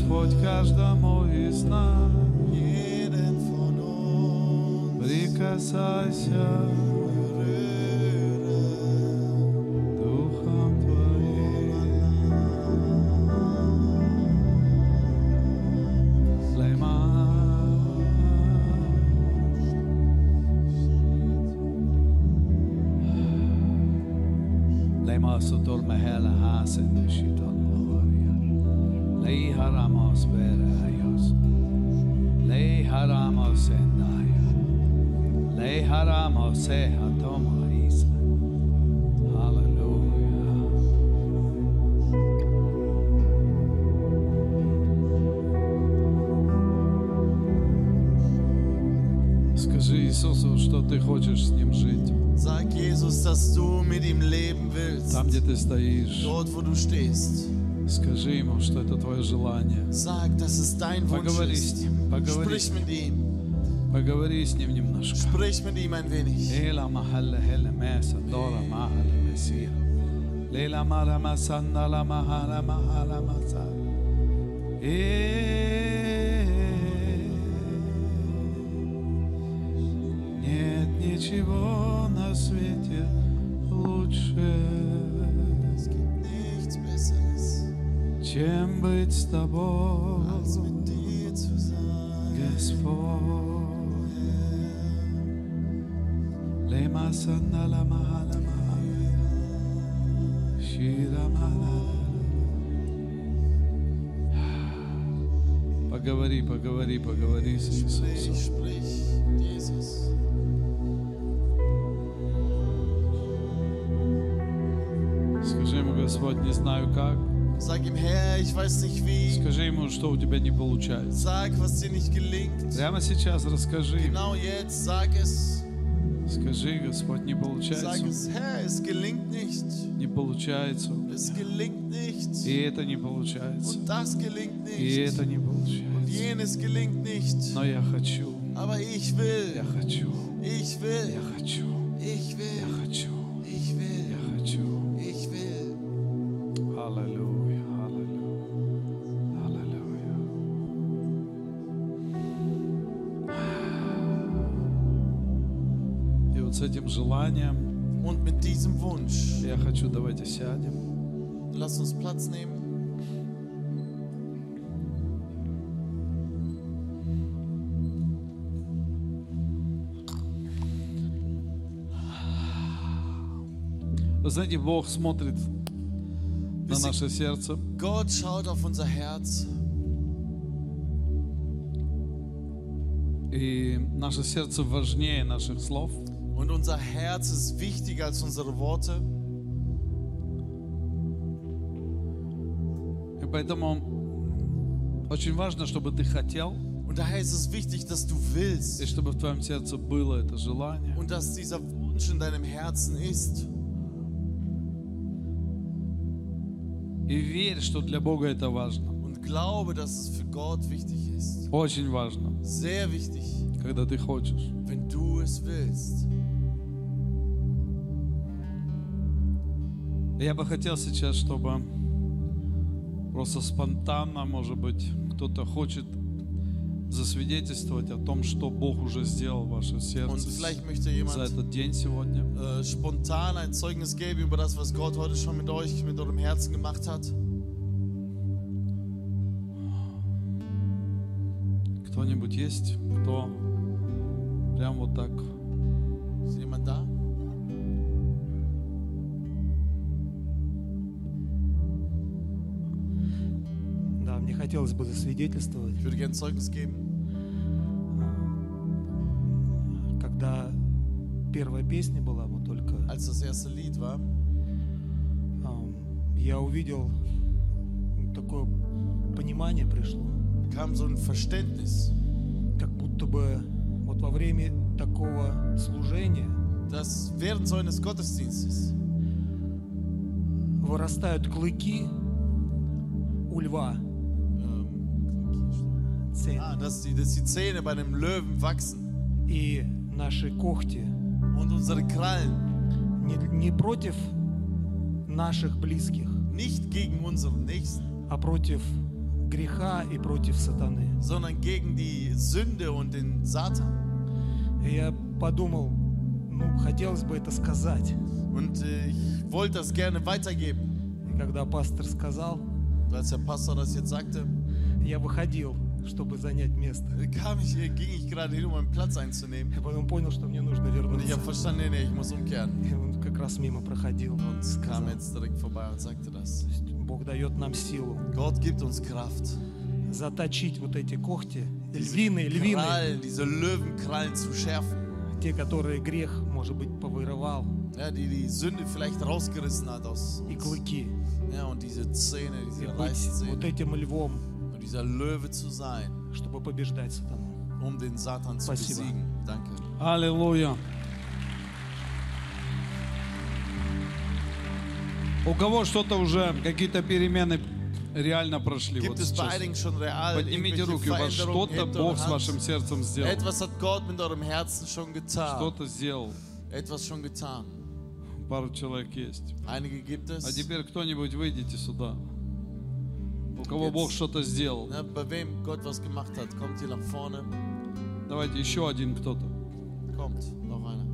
Господь каждому из нас. jeden von uns Прикасайся berühre. Духом Твоим. Лейма. Lema sotor mehela hasen shiton loria. Lei haramos berayos. Lei haramos endaya. Lei haramos sehatoma isa. Hallelujah. Скажи Иисусу, что ты хочешь с Ним жить. Sag Jesus, dass du mit ihm leben willst. Там, где ты стоишь, Dort, wo du stehst. скажи Ему, что это твое желание. Sag, dass es dein Wunsch Поговори с ist. Ним, поговори с Sprich Ним, mit ihm. поговори с Ним немножко. Sprich mit ihm ein wenig. Ela mahalla hela mesa dora mahala mesia. Lela mara masanda la mahala mahala masa. Нет ничего на свете лучше, Es gibt nichts Besseres, чем быть с тобой, als mit dir zu sein. Господь. Lema sanda la mahala mahala. Shira mahala. Поговори, поговори, поговори с Иисусом. Sprich, Jesus. Скажи ему, Господь, не знаю как. Sag ihm, Herr, ich weiß nicht wie. Скажи ему, что у тебя не получается. Sag, was dir nicht gelingt. Прямо сейчас расскажи. Genau jetzt, sag es. Скажи, Господь, не Sag получается. es, Herr, es gelingt nicht. Не получается. Es gelingt nicht. И это не получается. Und das gelingt И nicht. это не Und получается. jenes gelingt nicht. Но я хочу. Aber ich Я will. хочу. Ich will. Я хочу. Ich Я will. хочу. Ich Я will. хочу. Ich will. Аллилуйя. Аллилуйя. Аллилуйя. И вот с этим желанием Und mit diesem Wunsch, я хочу, давайте сядем. lass uns Platz nehmen. Вы знаете, Бог смотрит на наше сердце. Gott schaut auf unser Herz. И наше сердце важнее наших слов. Und unser Herz ist wichtiger als unsere Worte. И поэтому очень важно, чтобы ты хотел, Und daher ist es wichtig, dass du и willst. чтобы в твоем сердце было это желание. Und dass dieser Wunsch in deinem Herzen ist. И верь, что для Бога это важно. Und glaube, dass es für Gott wichtig ist. Очень важно, Sehr wichtig, когда ты хочешь. wenn du es willst. Я бы хотел сейчас, чтобы просто спонтанно, может быть, кто-то хочет засвидетельствовать о том, что Бог уже сделал в вашем Und сердце vielleicht möchte за jemand этот день сегодня. Spontan ein Zeugnis geben über das, was Gott heute schon mit euch, mit eurem Herzen gemacht hat. Кто-нибудь есть, кто прям вот так? Ist jemand da? Да, мне хотелось бы засвидетельствовать, Ich würde gerne Zeugnis geben. когда первая песня была, вот только Als das erste Lied war, я увидел такое понимание пришло, kam so ein Verständnis, как будто бы вот во время такого служения dass während so eines Gottesdienstes вырастают клыки у льва. Цены. dass die Zähne bei einem Löwen wachsen И наши когти und unsere Krallen не против наших близких, nicht gegen unseren Nächsten, а против греха и против сатаны. sondern gegen die Sünde und den Satan. И я подумал, ну, хотелось бы это сказать. Und ich wollte das gerne weitergeben. И когда пастор сказал, Als der Pastor das jetzt sagte, я выходил, чтобы занять место. ging ich gerade hin, um einen Platz einzunehmen. Я потом понял, что мне нужно Und ich вернуться. habe verstanden, nee, ich muss umkehren. И он как раз мимо проходил. Und Сказал, kam jetzt direkt vorbei und sagte das. Бог дает нам силу Gott gibt uns Kraft, заточить вот эти когти, львиные, Krallen, diese Löwenkrallen zu schärfen. те, которые грех, может быть, повырывал, Ja, die Sünde vielleicht rausgerissen hat aus и uns. клыки. Ja, und diese Zähne, И diese быть вот Reißzähne. этим львом, Und dieser Löwe zu sein, чтобы побеждать сатану. um den Satan zu Спасибо. besiegen. Danke. Аллилуйя. У кого что-то уже, какие-то перемены реально прошли? Вот Gibt es bei сейчас. einigen schon real Поднимите irgendwelche руки, у вас Veränderungen? что-то Hebt Бог eure с Hand. вашим сердцем сделал. Etwas hat Gott mit eurem Herzen schon getan. Что-то сделал. Etwas schon getan. Пару человек есть. Einige gibt А es. теперь кто-нибудь выйдите сюда. У кого Jetzt. Бог что-то сделал. Ne, bei wem Gott was gemacht hat, kommt hier nach vorne. Давайте еще один кто-то. Kommt, noch einer.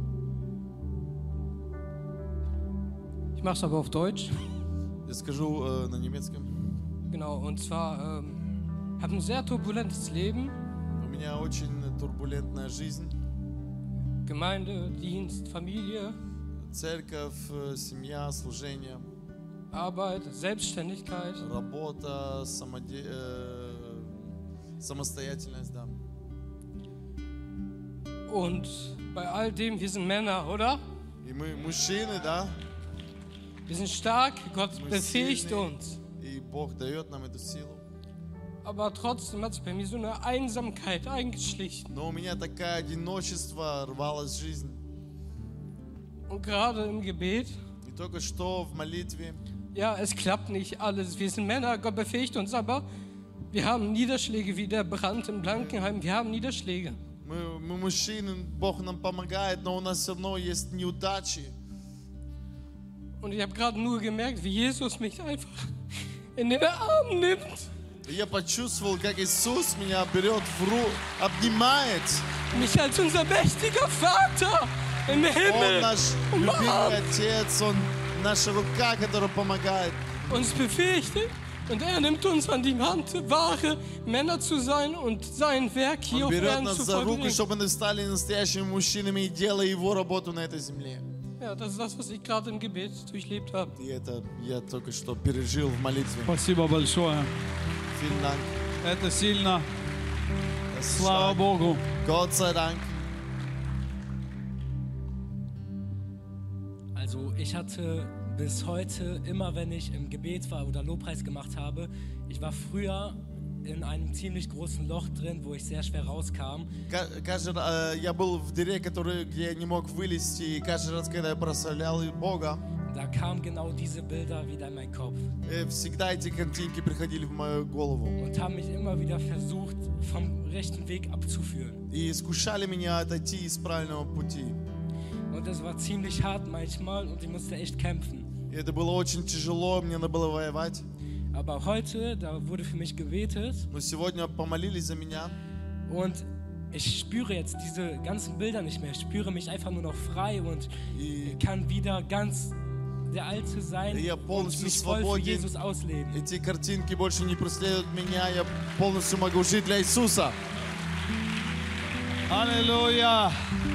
Ich mache es aber auf Deutsch. Я скажу на немецком. Genau, und zwar habe ein sehr turbulentes Leben. У меня очень турбулентная жизнь. Gemeinde, Dienst, Familie, Церковь, семья, служение, Arbeit, Selbstständigkeit. работа, самостоятельность, да. Und bei all dem, wir sind Männer, oder? И мы мужчины, да, Wir sind stark, Gott мы befähigt сильные, uns. и Бог дает нам эту силу. Aber trotzdem hat sich bei mir so eine Einsamkeit eingeschlichen. Но у меня такое одиночество рвалось в жизнь. Und gerade im Gebet, И только что в молитве, ja, es klappt nicht alles. Wir sind Männer, Gott befähigt uns, aber wir haben Niederschläge wie der Brand in Blankenheim. Wir haben Niederschläge. мы мужчины, Бог нам помогает, но у нас все равно есть неудачи. Und ich habe gerade nur gemerkt, wie Jesus mich einfach in den Arm nimmt. И я почувствовал, как Иисус меня берет в руку, обнимает. Mich als unser mächtiger Vater im Он Himmel наш любимый Отец, Он наша рука, которая помогает. uns befähigt. Und er nimmt uns an die Hand, wahre Männer zu sein und sein Werk hier Он auf берет Erden нас zu за руку, vollbringen. чтобы мы стали настоящими мужчинами и делая Его работу на этой земле. Ja, das ist das, was ich gerade im Gebet durchlebt habe. И это я только что пережил в молитве. Спасибо большое. Vielen Dank. Это сильно. Das ist Слава stark. Богу. Gott sei Dank. Also ich hatte bis heute, immer wenn ich im Gebet war oder Lobpreis gemacht habe, ich war früher in einem ziemlich großen Loch drin, wo ich sehr schwer rauskam. Каждый раз я был в дыре, где я не мог вылезти, и каждый раз, когда я прославлял Бога, Da kamen genau diese Bilder wieder in meinen Kopf всегда эти картинки приходили в мою голову und haben mich immer wieder versucht, vom rechten Weg abzuführen. и искушали меня отойти из правильного пути. Und das war ziemlich hart manchmal und ich musste echt kämpfen. И это было очень тяжело, мне надо было воевать. Aber heute, da wurde für mich gebetet Но сегодня помолились за меня, und ich spüre jetzt diese ganzen Bilder nicht mehr. Ich spüre mich einfach nur noch frei und и kann wieder ganz der Alte sein Я und полностью mich voll für свободен. Jesus ausleben. эти картинки больше не преследуют меня, я полностью могу жить для Иисуса. Аллилуйя.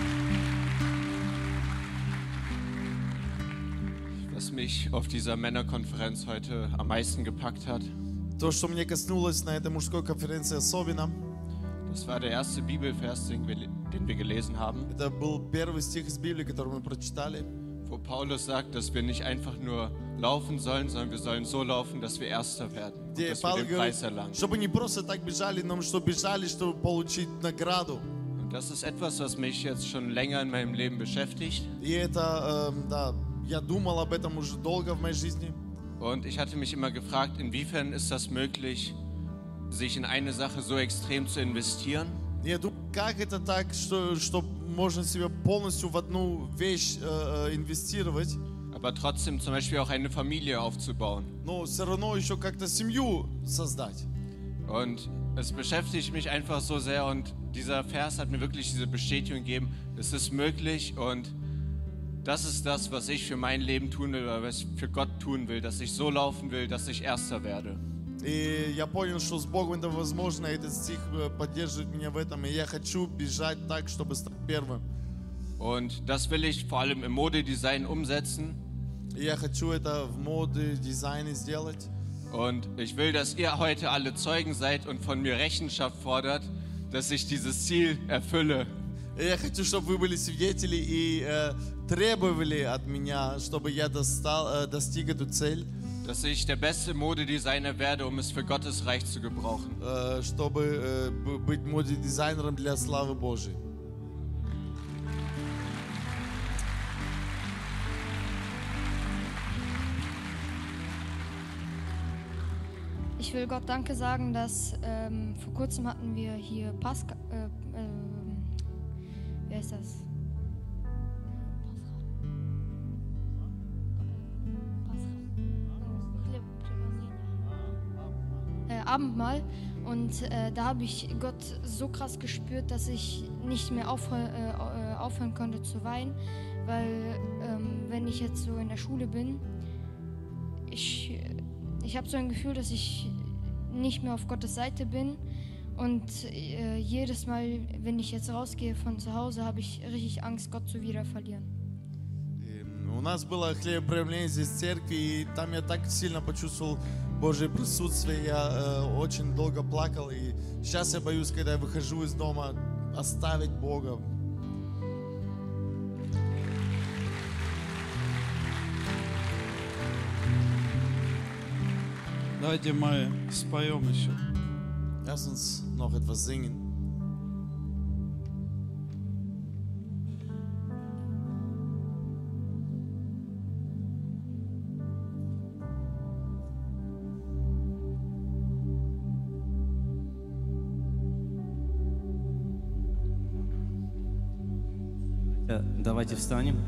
Was mich auf dieser Männerkonferenz heute am meisten gepackt hat, То, что мне коснулось на этой мужской конференции особенно, das war der erste Bibelvers, den wir gelesen haben, это был первый стих из Библии, который мы прочитали, wo Paulus sagt, dass wir nicht einfach nur laufen sollen, sondern wir sollen so laufen, dass wir Erster werden und где dass wir Павел den говорит, Preis erlangen. чтобы не просто так бежали, но чтобы бежали, чтобы получить награду. Und das ist etwas, was mich jetzt schon länger in meinem Leben beschäftigt. И это, да, я думал об этом уже долго в моей жизни. Und ich hatte mich immer gefragt, inwiefern ist das möglich, sich in eine Sache so extrem zu investieren, И я думал, как это так, что можно себя полностью в одну вещь инвестировать, aber trotzdem zum Beispiel auch eine Familie aufzubauen. но все равно еще как-то семью создать. Und es beschäftigt mich einfach so sehr und dieser Vers hat mir wirklich diese Bestätigung gegeben, es ist möglich und das ist das, was ich für mein Leben tun will oder was ich für Gott tun will, dass ich so laufen will, dass ich Erster werde. И я понял, что с Богом это возможно, и этот стих поддерживает меня в этом, и я хочу бежать так, чтобы стать первым. Und das will ich vor allem im Modedesign umsetzen. И я хочу это в моде, дизайне сделать. Und ich will, dass ihr heute alle Zeugen seid und von mir Rechenschaft fordert, dass ich dieses Ziel erfülle. И я хочу, чтобы вы были свидетели и требовали от меня, чтобы я достиг эту цель. Dass ich der beste Modedesigner werde, um es für Gottes Reich zu gebrauchen. Чтобы быть модедизайнером для славы Божьей. Ich will Gott Danke sagen, dass vor kurzem hatten wir hier Pascha. Wie heißt das? Abendmahl. Und da habe ich Gott so krass gespürt, dass ich nicht mehr aufhören konnte zu weinen, weil wenn ich jetzt so in der Schule bin, ich habe so ein Gefühl, dass ich nicht mehr auf Gottes Seite bin und jedes Mal, wenn ich jetzt rausgehe von zu Hause, habe ich richtig Angst, Gott zu wieder verlieren. У нас было хлебопроявление здесь в церкви, и там я так сильно почувствовал Божье присутствие, я очень долго плакал, и сейчас я боюсь, когда я выхожу из дома, оставить Бога. Давайте мы споем еще. Lass uns noch etwas singen. Давайте встанем.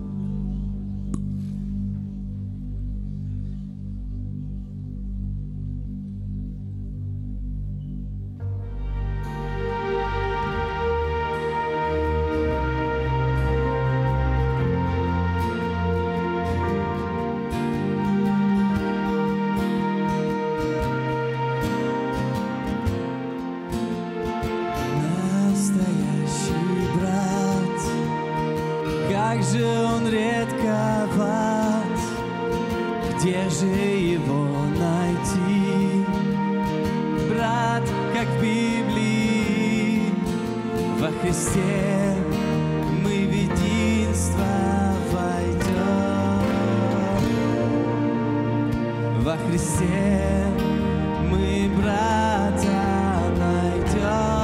Как же он редковат, где же его найти? Брат, как в Библии, во Христе мы в единство войдем. Во Христе мы брата найдем.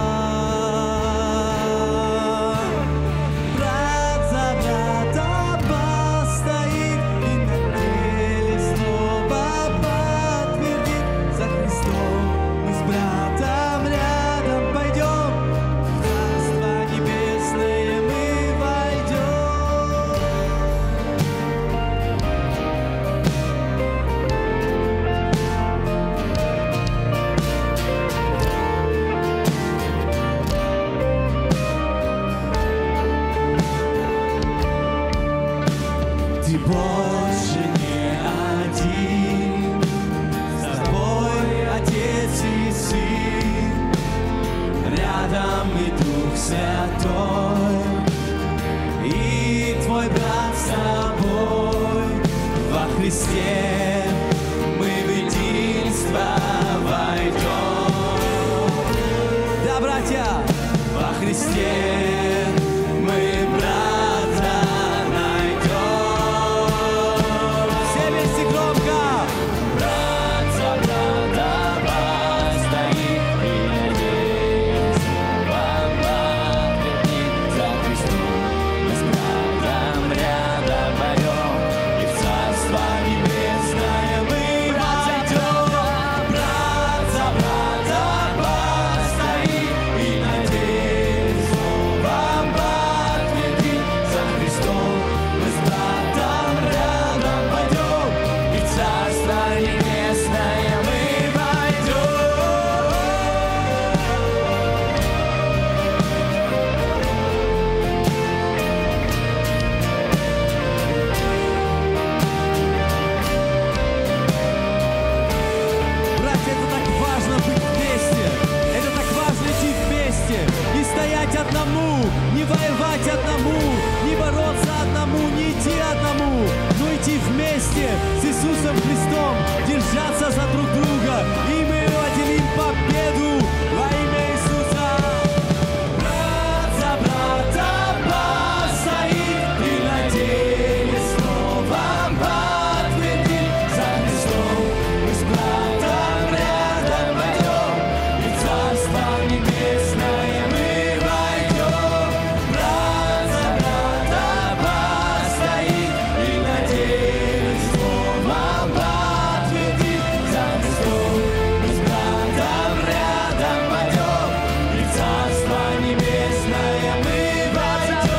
Иисусом Христом держаться за друг друга, и мы поделим победу во имя Иисуса. Брат за брата постоит и на деле словом подтвердит за Христом. Мы с братом рядом пойдем, и в Царство Небесное мы войдем. Брат за брата постоит и на деле словом подтвердит за Христом. Мы с братом рядом пойдем, и в Царство Небесное мы войдем.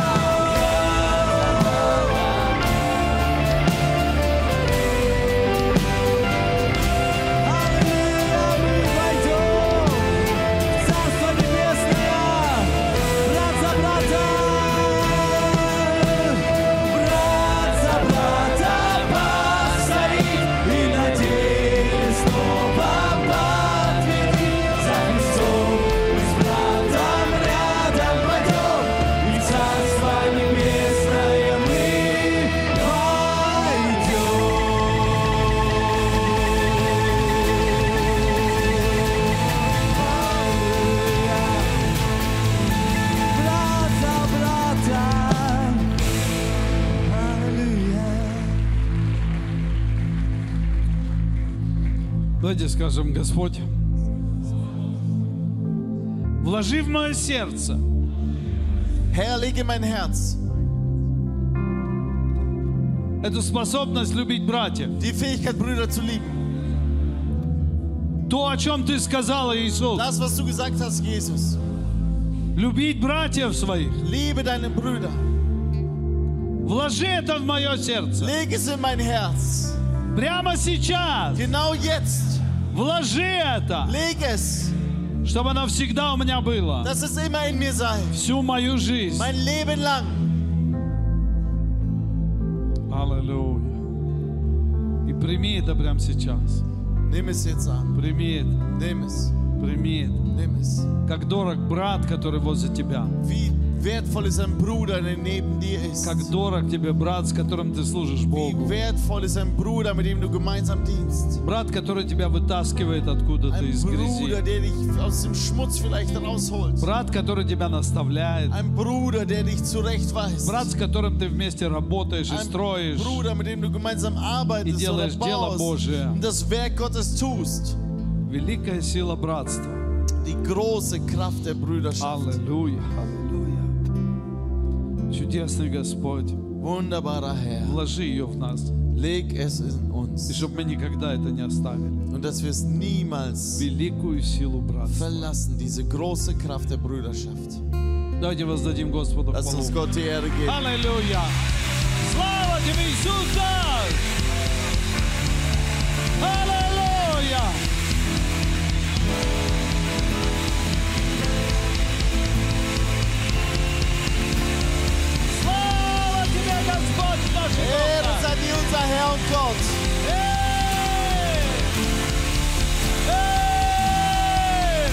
Аллилуйя, мы войдем в Царство Небесное, брат за брата. Брат за брата постоит и на деле словом подтвердит за Христом. Мы с братом рядом пойдем, и в Царство Небесное мы брат за брата. Аллилуйя. Давайте скажем: Господь, вложи в мое сердце Herr, leg in mein Herz эту способность любить братьев. die Fähigkeit, Brüder zu lieben. То, о чем Ты сказала, Иисус. Das, was du gesagt hast, Jesus. Любить братьев своих. Liebe deine Brüder. Вложи это в мое сердце. Leg es in mein Herz. Прямо сейчас. Genau jetzt. Вложи это, Leg es, чтобы оно всегда у меня было. dass es immer in mir sei. Всю мою жизнь. Mein Leben lang. Аллилуйя. И прими это прямо сейчас. Nimm es jetzt an. Прими это. Nimm es. Прими это. Nimm es. Как дорог брат, который возле тебя. Wie wertvoll ist ein Bruder, der neben dir ist. Как дорог тебе брат, с которым ты служишь Wie Богу. wertvoll ist ein Bruder, mit dem du gemeinsam dienst. Брат, который тебя вытаскивает откуда-то Ein из Bruder, грязи. der dich aus dem Schmutz vielleicht rausholt. Брат, который тебя наставляет. Ein Bruder, der dich zurechtweist. Брат, с которым ты вместе работаешь и Ein строишь. Bruder, mit dem du gemeinsam arbeitest И oder делаешь дело baust Божие. und das Werk Gottes tust. Великая сила братства. Die große Kraft der Brüderschaft. Аллилуйя. Аллилуйя. Чудесный Господь. Wunderbarer Herr, Вложи ее в нас. leg es in И uns. чтобы мы никогда это не оставили. Und dass wir es niemals Великую силу братства. verlassen, diese große Kraft der Brüderschaft. Давайте воздадим Господу Lass uns хвалу. Gott die Ehre geben. Аллилуйя. Слава тебе, Иисус! Аллилуйя. Слава тебе, Господь наш Ehre Бог! sei dir, unser Herr und Gott. Эй! Эй!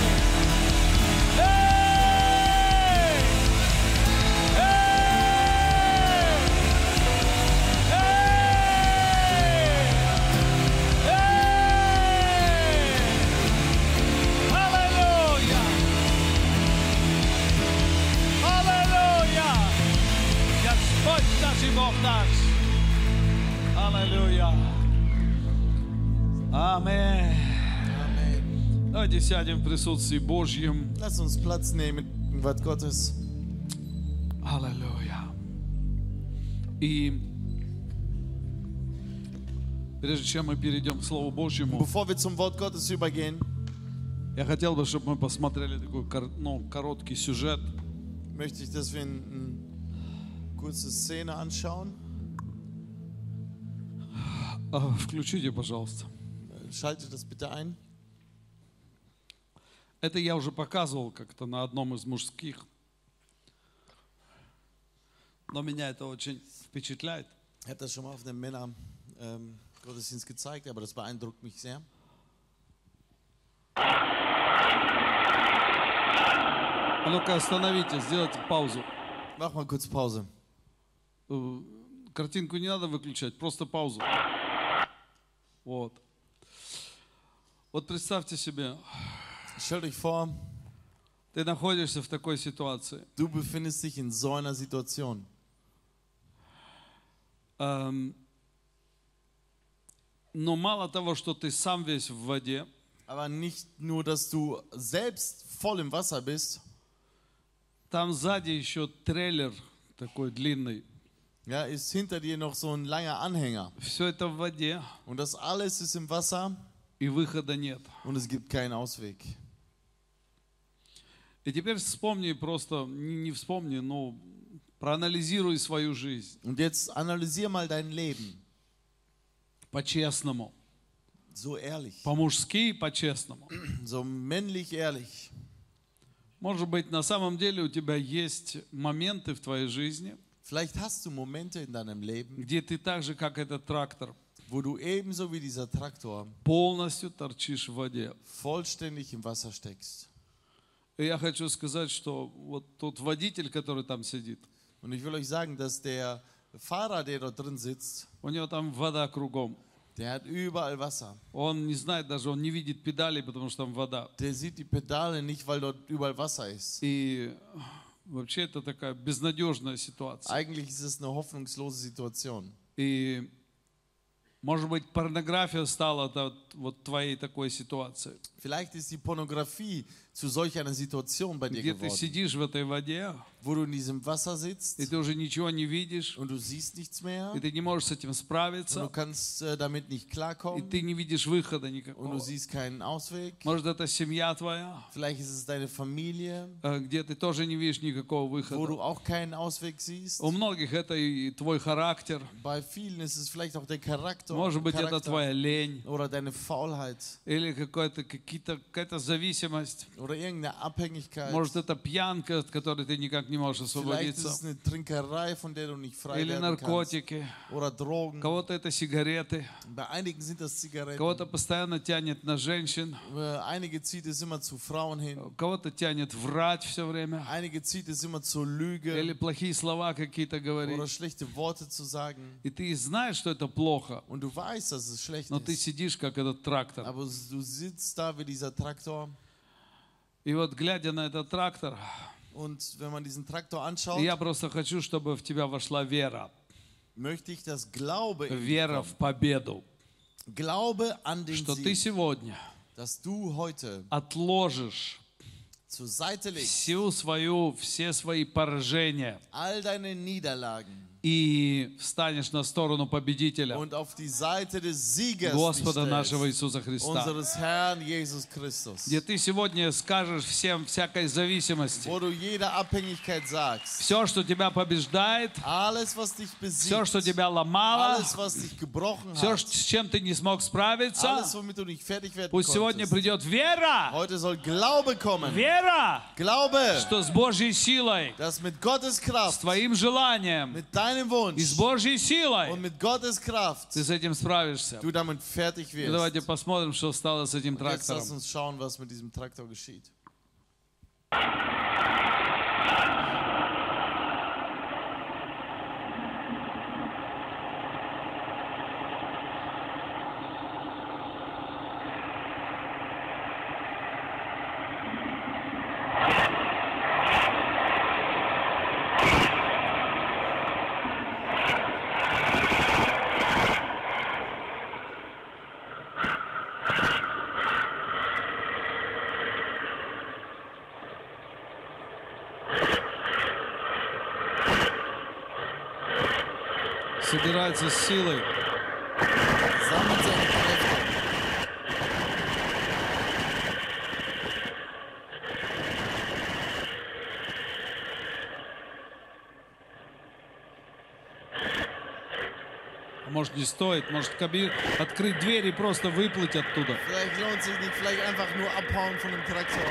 Эй! Аллилуйя! Аллилуйя! Господь наш и Бог наш! Аллилуйя! Аминь! Amen. Давайте сядем в присутствии Божьем. Lass uns Platz nehmen im Wort Gottes. Аллилуйя! И прежде чем мы перейдем к Слову Божьему, Bevor wir zum Wort Gottes übergehen, я хотел бы, чтобы мы посмотрели такой короткий сюжет. möchte ich, dass wir eine kurze Szene anschauen. Включите, пожалуйста. Schaltet das bitte ein. Это я уже показывал как-то на одном из мужских. Но меня это очень впечатляет. Ich habe das schon mal auf einem Männer-Gottesdienst gezeigt, aber das beeindruckt mich sehr. А ну-ка остановите, сделайте паузу. Mach mal kurz Pause. Картинку не надо выключать, просто паузу. Вот. Вот представьте себе, Stellt euch vor, ты находишься в такой ситуации. du befindest dich in so einer Situation. Но мало того, что ты сам весь в воде, Aber nicht nur, dass du selbst voll im Wasser bist, там сзади еще трейлер такой длинный. ja, ist hinter dir noch so ein langer Anhänger. Все это в воде, Und das alles ist im Wasser и выхода нет. und es gibt keinen Ausweg. И теперь вспомни просто, не вспомни, но проанализируй свою жизнь Und jetzt analysier mal dein Leben. по-честному, So ehrlich, по-мужски и по-честному. so männlich ehrlich. Может быть, на самом деле у тебя есть моменты в твоей жизни, Vielleicht hast du Momente in deinem Leben, где ты так же, как этот трактор, wo du ebenso wie dieser Traktor полностью торчишь в воде. vollständig im Wasser steckst. И я хочу сказать, что вот тот водитель, который там сидит, Und ich will euch sagen, dass der Fahrer, der dort drin sitzt, у него там вода кругом. der hat überall Wasser. Он не знает даже, он не видит педалей, потому что там вода. Der sieht die Pedale nicht, weil dort überall Wasser ist. И вообще это такая безнадежная ситуация. Eigentlich ist es eine hoffnungslose Situation. И, может быть, порнография стала вот твоей такой ситуацией, Vielleicht ist die Pornografie zu solch einer Situation bei dir где ты geworden, сидишь в этой воде, wo du in diesem Wasser sitzt и ты уже ничего не видишь, und du siehst nichts mehr и ты не можешь с этим und du справиться, kannst damit nicht и klarkommen ты не видишь выхода und du никакого. siehst keinen Ausweg. Может, это семья твоя, Vielleicht ist es deine Familie, где ты тоже не видишь никакого wo выхода. du auch keinen Ausweg siehst. У многих это и твой характер, Bei vielen ist es vielleicht auch der Charakter, может быть, это твоя лень, oder deine Faulheit или какая-то зависимость. oder irgendeine Abhängigkeit. Может, это пьянка, от которой ты никак не можешь Vielleicht ist освободиться. es eine Trinkerei, von der du nicht frei Или werden kannst. наркотики. Oder Drogen. Кого-то это сигареты. Bei einigen sind das Zigaretten. Кого-то постоянно тянет на женщин. Einige zieht es immer zu Frauen hin. Кого-то тянет врать все время. Einige zieht es immer zur Lüge Или плохие слова какие-то oder говорить. schlechte Worte zu sagen. И ты знаешь, что это плохо. Und du weißt, dass es schlecht Но ты ist. сидишь, как этот трактор. Aber du sitzt da wie dieser Traktor. И вот глядя на этот трактор, Und wenn man diesen Traktor anschaut, я просто хочу, чтобы в тебя вошла вера. möchte ich, dass Glaube in dich Вера kommt. в победу. Glaube an den Что ты Sieg, сегодня dass du heute отложишь zur Seite legst все свои поражения all deine Niederlagen и встанешь на сторону победителя, und auf die Seite des Siegers Господа dich нашего stellst, Иисуса Христа. unseres Herrn Jesus Christus, Где ты сегодня скажешь всем всякой зависимости, wo du jeder Abhängigkeit sagst, все, что тебя побеждает, alles, was dich все, что besiegt, тебя ломало, alles, was dich gebrochen все, hat, с чем ты не смог справиться, alles, womit du nicht fertig werden пусть сегодня konntest. придет вера, Heute soll Glaube kommen. вера, Glaube, что с Божьей силой, dass mit Gottes с Kraft, твоим желанием mit deinem и Wunsch с Божьей силой und mit Gottes Kraft ты с этим справишься. du damit fertig И давайте wirst. посмотрим, что стало с этим Und jetzt lass трактором. uns schauen, was mit diesem Traktor geschieht. Собирается с силой. Sammelt seine Kräfte. Может, не стоит, может, открыть дверь и просто выплыть оттуда. Vielleicht lohnt es sich nicht, vielleicht einfach nur abhauen von dem Traktor.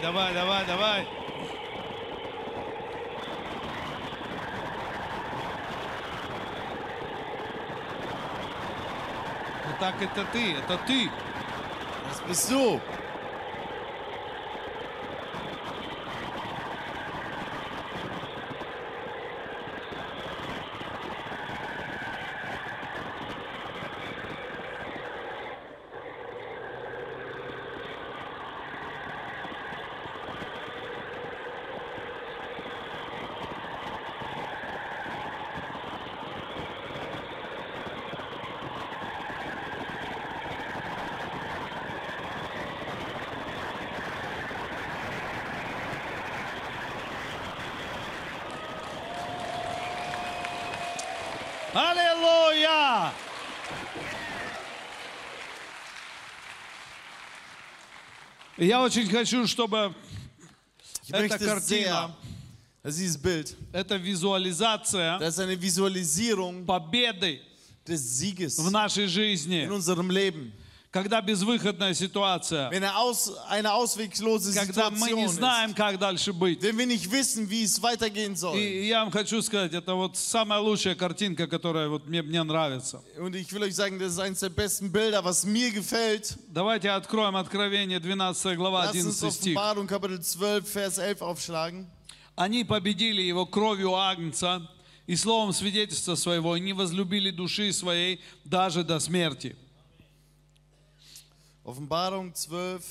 давай, давай, давай. Вот так это ты, это ты. Das bist du. Аллилуйя! Я очень хочу, чтобы Ich эта möchte sehr, картина, dass dieses Bild, эта визуализация das ist eine Visualisierung победы des Sieges в нашей жизни, in unserem Leben. когда безвыходная ситуация, Wenn eine ausweglose когда мы не Situation ist, знаем, как дальше быть. wenn wir nicht wissen, wie es weitergehen soll. И я вам хочу сказать, это вот самая лучшая картинка, которая вот мне нравится. Und ich will euch sagen, das ist eines der besten Bilder, was mir gefällt. Давайте откроем Откровение, 12 глава, Lass uns 11 стих. Offenbarung Kapitel 12, Vers 11 aufschlagen. Они победили его кровью Агнца и словом свидетельства своего, и не возлюбили души своей даже до смерти. Offenbarung 12.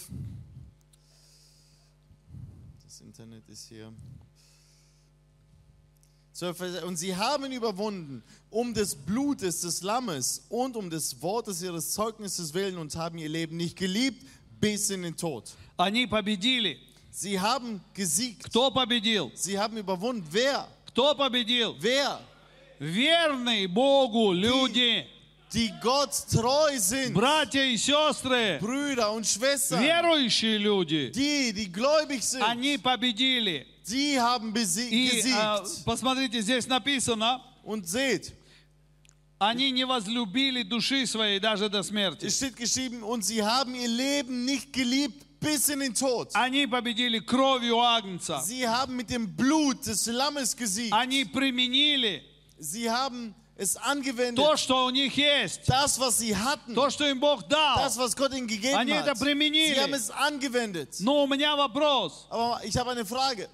Das Internet ist hier. 12, Vers, und sie haben überwunden um des Blutes des Lammes und um des Wortes ihres Zeugnisses willen und haben ihr Leben nicht geliebt bis in den Tod. Они победили. Sie haben gesiegt. Кто победил? Sie haben überwunden. Wer? Кто победил? Wer? Верные Богу люди, Die Gott treu sind. братья и сестры, Brüder und Schwestern. верующие люди. Die gläubig sind. Они победили. Sie haben И gesiegt. посмотрите, здесь написано, Und seht, они не возлюбили души своей даже до смерти. es steht geschrieben, und sie haben ihr Leben nicht geliebt bis in den Tod. Они победили кровью Агнца. Sie haben mit dem Blut des Lammes gesiegt. Они применили Sie haben es angewendet. то, что у них есть, Das, was sie hatten. то, что им Бог дал. Das, was Gott ihnen gegeben Они это hat. применили. Sie haben es angewendet. Но у меня вопрос, Aber ich habe eine Frage.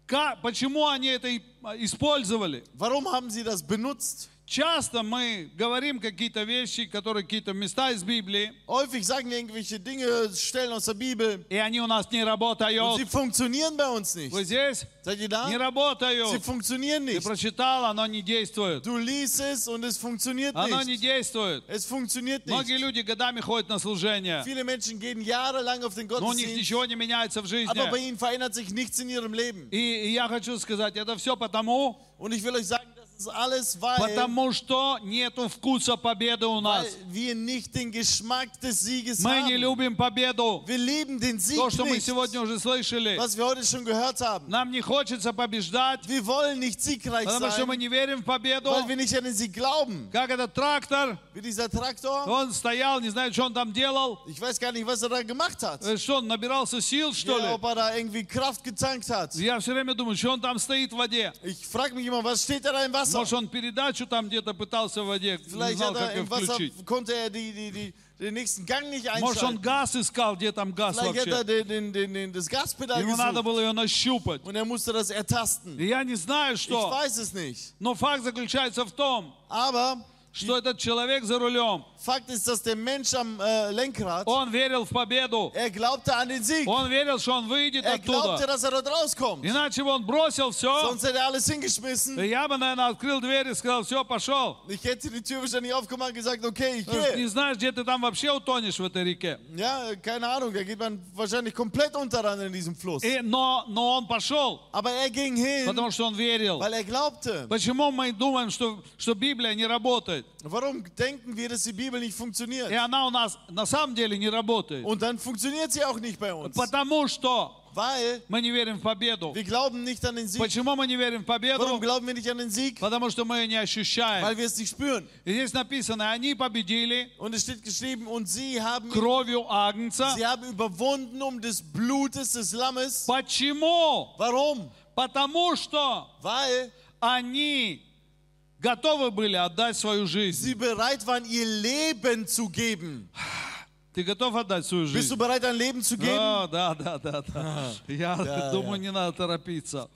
почему они это использовали? Warum haben sie das benutzt? Часто мы говорим какие-то вещи, которые какие-то места из Библии, Häufig sagen wir irgendwelche Dinge, Stellen aus der Bibel. и они у нас не Und работают. sie funktionieren bei uns nicht. Вы здесь? Seid ihr da? Не Sie работают. funktionieren Ты nicht. прочитал, оно не действует. Du liest es und es funktioniert Оно не nicht. действует. Es funktioniert Многие nicht. люди годами ходят на служение, Viele Menschen gehen jahrelang auf den но у них Gottesdienst, ничего не меняется в жизни. aber bei ihnen verändert sich nichts in ihrem Leben. И я хочу сказать, это все потому, Und ich will euch sagen, das ist alles, weil потому что нету вкуса победы у нас. wir nicht den Geschmack des Sieges Мы не haben. любим победу. Wir lieben den Sieg То, что мы nicht, сегодня уже слышали. was wir heute schon gehört haben. Нам не хочется побеждать, Wir wollen nicht siegreich потому что мы sein, не верим в победу. weil wir nicht an den Sieg glauben. Как этот трактор, Wie dieser Traktor, он стоял, не знаю, что он там делал. ich weiß gar nicht, was er da gemacht hat. Что, он набирался сил, что Ja, ли? ob er da irgendwie Kraft getankt hat. Я все время думаю, что он там стоит в воде. Ich frage mich immer, was steht da im Wasser? Может, он передачу там где-то пытался в воде, не Vielleicht знал, hat er как ее im Wasser, включить. konnte er den nächsten Gang nicht Может, он einschalten. газ искал, где там газ Vielleicht hat er вообще. das Gaspedal Ему надо gesucht было ее нащупать. und er musste das ertasten. И я не знаю, Ich что. weiß es nicht. Но факт заключается в том, Aber что этот человек за рулем, Fakt ist, dass der Mensch am Lenkrad, он верил в победу. er glaubte an den Sieg. Он верил, что он выйдет Er glaubte, оттуда. dass er dort rauskommt. Иначе бы он бросил все. Sonst hätte er alles hingeschmissen. Я бы, наверное, открыл дверь и сказал, все, пошел. Ich hätte die Tür wahrscheinlich aufgemacht und gesagt, okay, ich Потому что не gehe. знаешь, где ты там вообще утонешь в этой реке. Ja, keine Ahnung, da geht man wahrscheinlich komplett unter dann in diesem Fluss. Но он пошел, Aber er ging hin, потому что он верил. weil er glaubte. Почему мы думаем, что Библия не работает? Warum denken wir, dass die Bibel nicht funktioniert? И она у нас на самом деле не работает. Und dann funktioniert sie auch nicht bei uns. Потому что Weil мы не верим в победу? wir glauben nicht an den Sieg. Почему мы не верим в победу? Warum glauben wir nicht an den Sieg? Потому что мы ее не ощущаем. Weil wir es nicht spüren. И здесь написано, они победили Und es steht geschrieben, und sie haben кровью Агнца. überwunden um des Blutes des Lammes. Почему? Warum? Потому что Weil они готовы были отдать свою жизнь. sie bereit waren, ihr Leben zu geben. Ты готов отдать свою Bist жизнь? du bereit, dein Leben zu geben? Да. Я думаю, не надо торопиться.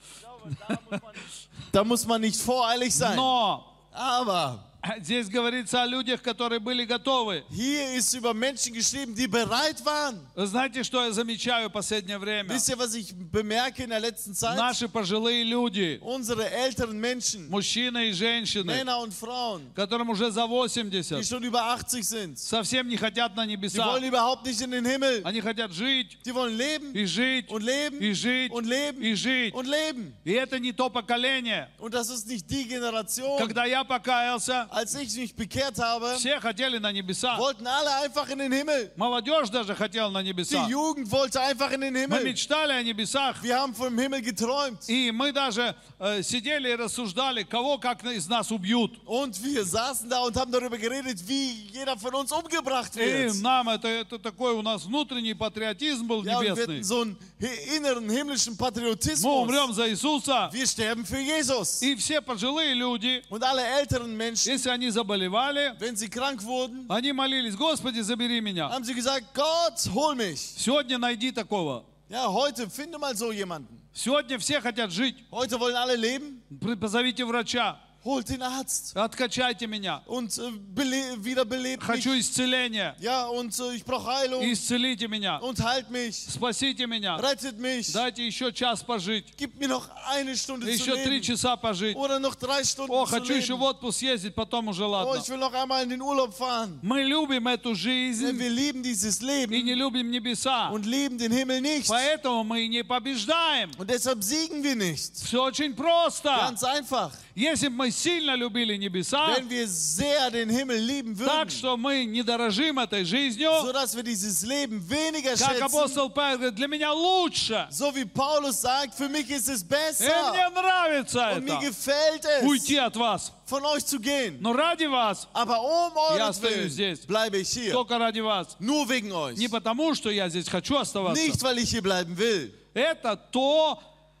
Da muss man nicht voreilig sein. Но Aber здесь говорится о людях, которые были готовы. hier ist über Menschen geschrieben, die bereit waren. Вы знаете, что я замечаю в последнее время? Wisst ihr, was ich bemerke in der letzten Zeit? Наши пожилые люди, Unsere älteren Menschen, мужчины и женщины, Männer und Frauen, которым уже за die 80, schon über 80 sind, совсем не хотят на die небеса. wollen überhaupt nicht in den Himmel. Они хотят жить Die wollen leben и жить und leben и жить und leben и жить. und leben. И это не то поколение. Und das ist nicht die Generation. Когда я покаялся, Als ich mich bekehrt habe, все хотели на небеса. wollten alle einfach in den Himmel. Молодежь даже хотела на Die небеса. Jugend wollte einfach in den Мы Himmel. мечтали о небесах. Wir haben vom Himmel geträumt. И мы даже сидели и рассуждали, кого как из нас убьют. Und wir saßen da und haben darüber geredet, wie jeder von uns umgebracht И wird. нам это такой у нас внутренний патриотизм был Ja, und wir небесный. hatten so einen inneren himmlischen Мы Patriotismus. умрем за Иисуса. Wir sterben für Jesus. И все пожилые люди, Und alle älteren Menschen, если они заболевали, wenn sie krank wurden, они молились, Господи, забери меня. haben sie gesagt, Gott, hol mich. Сегодня найди такого. Ja, heute finde mal so jemanden. Сегодня все хотят жить. Heute wollen alle leben. Позовите врача. Holt den Arzt Откачайте меня. und wiederbelebt mich. Хочу исцеления. Ja, und ich brauche Heilung. Исцелите меня. Und heilt mich. Спасите меня. Rettet mich. Дайте еще час пожить. Gib mir noch eine Stunde zu Еще 3 leben. часа пожить. Oder noch 3 Stunden О, zu хочу еще в leben. отпуск съездить, потом уже Oh, ладно. ich will noch einmal in den Urlaub fahren. Мы любим эту Denn жизнь wir lieben dieses и Leben не любим небеса. und lieben den Himmel nicht. Поэтому мы не побеждаем. Und deshalb siegen wir nicht. Все очень просто. Ganz einfach. Если бы мы сильно любили небеса, Wenn wir sehr den Himmel lieben так würden, что мы не дорожим этой жизнью, sodass wir dieses Leben weniger как schätzen, апостол Павел говорит, для меня лучше. so wie Paulus sagt, für mich ist es И мне besser нравится und mir это. gefällt es, Уйти от вас. von euch zu gehen. Но ради вас, Aber Я остаюсь euretwillen здесь. bleibe ich hier. только ради вас. Nur wegen euch. Не потому, что я здесь хочу оставаться. Nicht, weil ich hier bleiben will. Это то,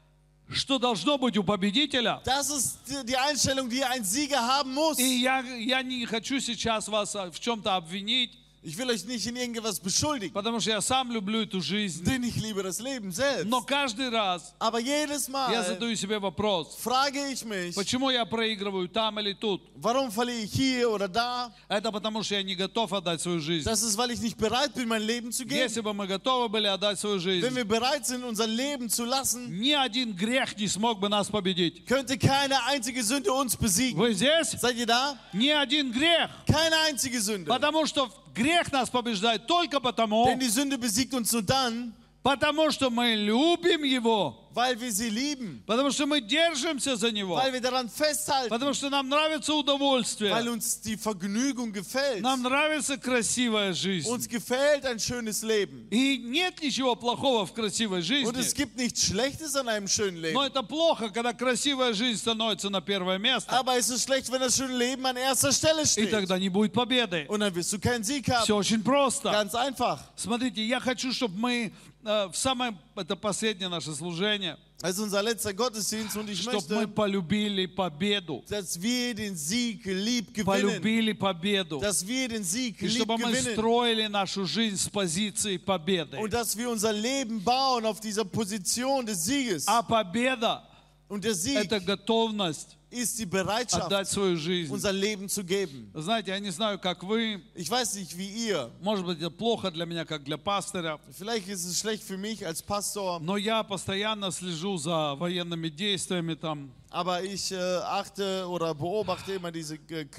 что должно быть у победителя. Das ist die Einstellung, die ein Sieger haben muss. И я не хочу сейчас вас в чем-то обвинить, Ich will euch nicht in irgendwas beschuldigen, потому что я сам люблю эту жизнь. denn ich liebe das Leben selbst. Но каждый раз Aber jedes я Mal задаю себе вопрос, frage ich mich, почему я проигрываю там или тут? warum verliere ich hier oder da? Это потому, что я не готов отдать свою жизнь. Das ist, weil ich nicht bereit bin, mein Leben zu Если geben. бы мы готовы были отдать свою Wenn жизнь, wir bereit sind, unser Leben zu lassen, ни один грех не смог бы нас победить. könnte keine einzige Sünde uns besiegen. Вы здесь? Seid ihr da? Ни один грех. Keine einzige Sünde. Потому что грех нас побеждает только потому, Denn die Sünde besiegt uns nur dann, потому что мы любим Его, weil wir sie lieben, потому что мы держимся за Него, weil wir daran festhalten, потому что нам нравится weil удовольствие, uns die Vergnügung gefällt. нам нравится красивая жизнь. Uns gefällt ein schönes Leben. И нет ничего плохого в красивой Und es жизни, gibt nichts Schlechtes an einem schönen но Leben. это плохо, когда красивая жизнь становится на первое место, Aber es ist schlecht, wenn das schöne Leben an erster Stelle и steht. тогда не будет победы. Und dann wirst du keinen Sieg haben. Все очень просто. Ganz einfach. Смотрите, я хочу, чтобы мы в самое, это последнее наше служение, Das ist unser letzter Gottesdienst und ich чтобы мы möchte, полюбили победу, dass wir den Sieg lieb gewinnen. полюбили победу, Dass wir den Sieg и lieb чтобы мы gewinnen. строили нашу жизнь с позиции победы. Und dass wir unser Leben bauen auf dieser Position des Sieges. А победа Und der – Sieg это готовность ist die Bereitschaft, отдать свою жизнь. unser Leben zu geben. Знаете, я не знаю, как вы, Ich weiß nicht, wie ihr. может быть, это плохо для меня, как для пастора, Vielleicht ist es schlecht für mich als Pastor. но я постоянно слежу за военными действиями там. Aber ich achte oder beobachte immer diese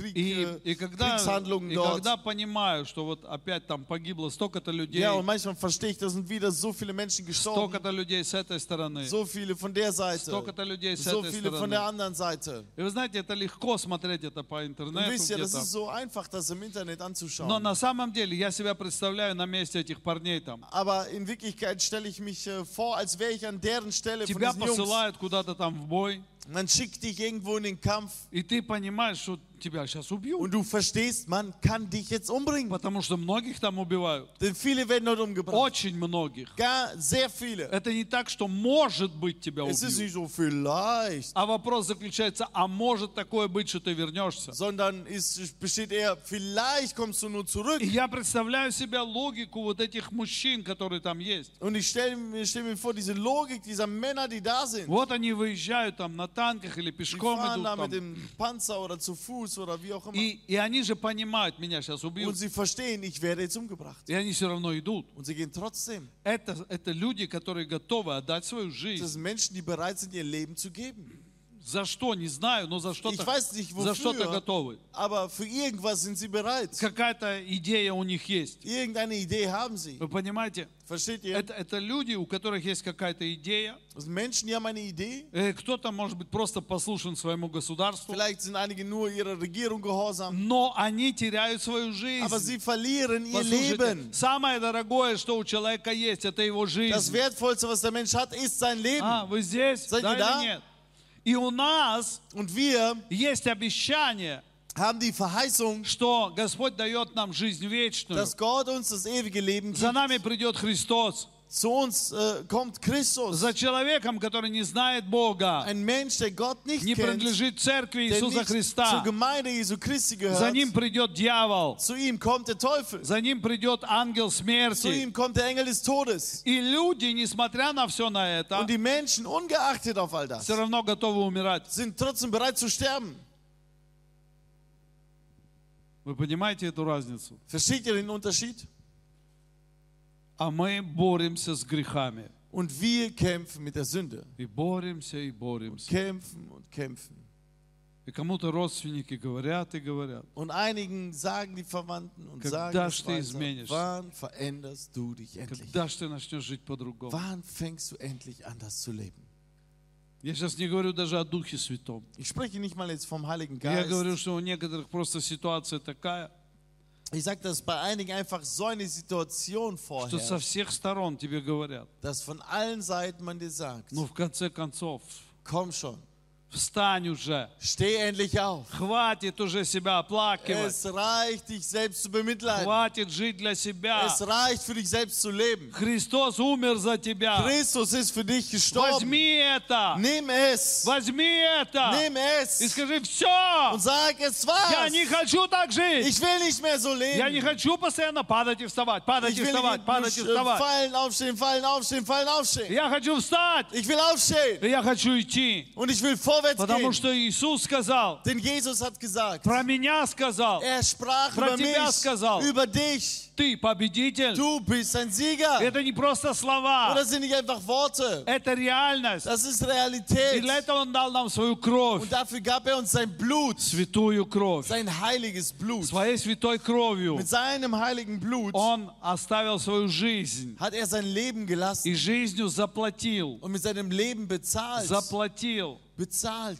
Kriegshandlungen dort. когда понимаю, что вот опять там погибло столько-то людей, Ja, und manchmal verstehe ich, da sind wieder so viele Menschen gestorben. столько-то людей с этой стороны, So viele von der Seite. столько-то людей с So этой viele von der стороны. anderen Seite. И вы знаете, это легко смотреть это по Und интернету wisst ihr, das где-то. ist so einfach, das im Internet Но anzuschauen. на самом деле я себя представляю на месте этих парней там. Aber in Wirklichkeit stelle ich mich vor, als wäre ich an deren Stelle von Тебя diesen Jungs. посылают куда-то там в бой, Man schickt dich irgendwo in den Kampf и ты понимаешь, что тебя сейчас убьют. und du verstehst, man kann dich jetzt umbringen. Потому что многих там убивают. Denn viele werden dort umgebracht. Очень многих. Sehr viele. Это не так, что может быть тебя Es ist убьют. nicht so vielleicht, А вопрос заключается, а может такое быть, что ты вернешься? sondern besteht eher, vielleicht kommst du nur zurück. И я представляю себе логику вот этих мужчин, которые там есть. Und ich stelle mir vor, diese Logik dieser Männer, die da sind. Вот они выезжают там на танках или Die пешком fahren идут da там. mit dem Panzer oder zu Fuß oder wie auch immer. И они же понимают, меня сейчас Und убьют. sie verstehen, ich werde jetzt umgebracht. И они все равно идут. Und sie gehen trotzdem. Это люди, которые готовы отдать свою Das жизнь. sind Menschen, die bereit sind, ihr Leben zu geben. За что, не знаю, но за Ich что-то weiß nicht за что-то wofür, готовы. aber für irgendwas sind sie bereit. Какая-то идея у них есть. Irgendeine Idee haben sie. Вы понимаете? Versteht ihr? Это люди, у которых есть какая-то идея. Das sind Menschen, die haben eine Idee. Кто-то, может быть, просто послушен своему государству. Vielleicht sind einige nur ihrer Regierung gehorsam. Но они теряют свою жизнь. Aber sie verlieren ihr Послушайте, Leben. самое дорогое, что у человека есть, это его Das жизнь. Wertvollste, was der Mensch hat, ist sein Leben. Вы здесь? Seid Да ihr da? или нет? И у нас Und wir есть обещание, haben die Verheißung, что Господь дает нам жизнь вечную. dass Gott uns das ewige Leben За gibt. нами придет Христос. Zu uns kommt Christus. За человеком, который не знает Бога, Ein Mensch, der Gott nicht не kennt, принадлежит церкви der Иисуса nicht zur Христа. Gemeinde Jesu Christi За ним gehört. придет дьявол. Zu ihm kommt der Teufel. За ним придет ангел Zu смерти. ihm kommt der Engel des Todes. И люди, несмотря на все на это, Und die Menschen, ungeachtet auf all das, все равно готовы умирать. sind trotzdem bereit zu sterben. Вы понимаете эту разницу? Versteht ihr den Unterschied? А мы боремся с грехами. Und wir kämpfen mit der Sünde. И боремся, и боремся. Kämpfen und kämpfen. И кому-то родственники говорят и говорят. Und einigen sagen die Verwandten und sagen Когда es ж ты weiter, изменишься? wann veränderst du dich endlich? Когда ж ты начнешь жить по-другому? Wann fängst du endlich an, das zu leben? Я сейчас не говорю даже о Духе Святом. Ich spreche nicht mal jetzt vom Heiligen Я Geist. говорю, что у некоторых просто ситуация такая, Ich sage, dass bei einigen einfach so eine Situation что со vorherrscht, всех сторон тебе говорят. dass von allen Seiten man dir sagt, Ну, в конце концов, komm schon, встань уже. steh endlich auf. Хватит уже себя оплакивать. Es reicht, dich selbst zu bemitleiden. Хватит жить для себя. Es reicht, für dich selbst zu leben. Христос умер за тебя. Christus ist für dich gestorben. Возьми это. Nimm es. Возьми это. Nimm es. И скажи, все. Und sag, es Я не war's. хочу так жить. Ich will nicht mehr so Я не leben. хочу постоянно падать и вставать, падать Ich и will вставать, nicht падать и вставать. fallen, aufstehen, fallen, aufstehen, fallen, aufstehen. Я хочу встать. Ich will aufstehen. И я хочу идти. Und ich will vorwärts Потому gehen. что Иисус сказал, Denn Jesus hat gesagt, про меня сказал, er sprach Про über тебя mich, сказал. über dich. ты победитель. Du bist ein Sieger. Это не просто Und слова, das sind nicht einfach Worte. это реальность. Das ist И Realität. для этого Он дал нам свою кровь, Und dafür gab er uns sein Blut, святую кровь. sein heiliges Blut. Своей святой кровью Mit seinem heiligen Blut Он оставил свою жизнь hat er sein Leben gelassen и жизнью заплатил. und mit seinem Leben bezahlt. Заплатил. Bezahlt.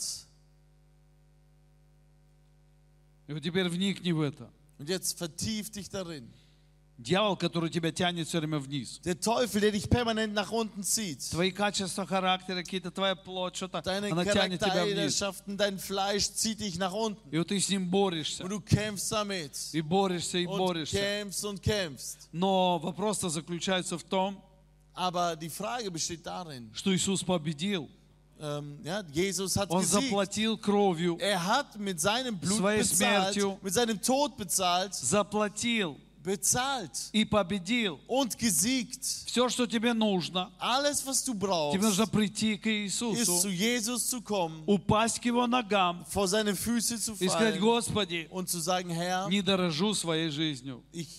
И вот теперь вникни в это. Und jetzt vertief dich darin. Дьявол, который тебя тянет все время вниз. Der Teufel, der dich permanent nach unten zieht. Твои качества характера, какие-то твоя плоть, что-то, Deine она тянет тебя вниз. Charaktereigenschaften, dein Fleisch zieht dich nach unten. И вот ты с ним борешься. Und du kämpfst damit. И борешься, и Und борешься. kämpfst und kämpfst. Но вопрос-то заключается в том, Aber die Frage besteht darin, что Иисус победил. ja, Jesus hat Он gesiegt. заплатил кровью, Er hat mit seinem Blut Своей bezahlt, смертью. mit seinem Tod bezahlt, заплатил bezahlt и победил. und gesiegt. Все, что тебе нужно, Alles, was du тебе brauchst, нужно прийти к ist zu Иисусу, Jesus zu kommen, упасть к Его ногам vor seine Füße zu и сказать, fallen Господи, und zu sagen, Herr, не дорожу своей жизнью. ich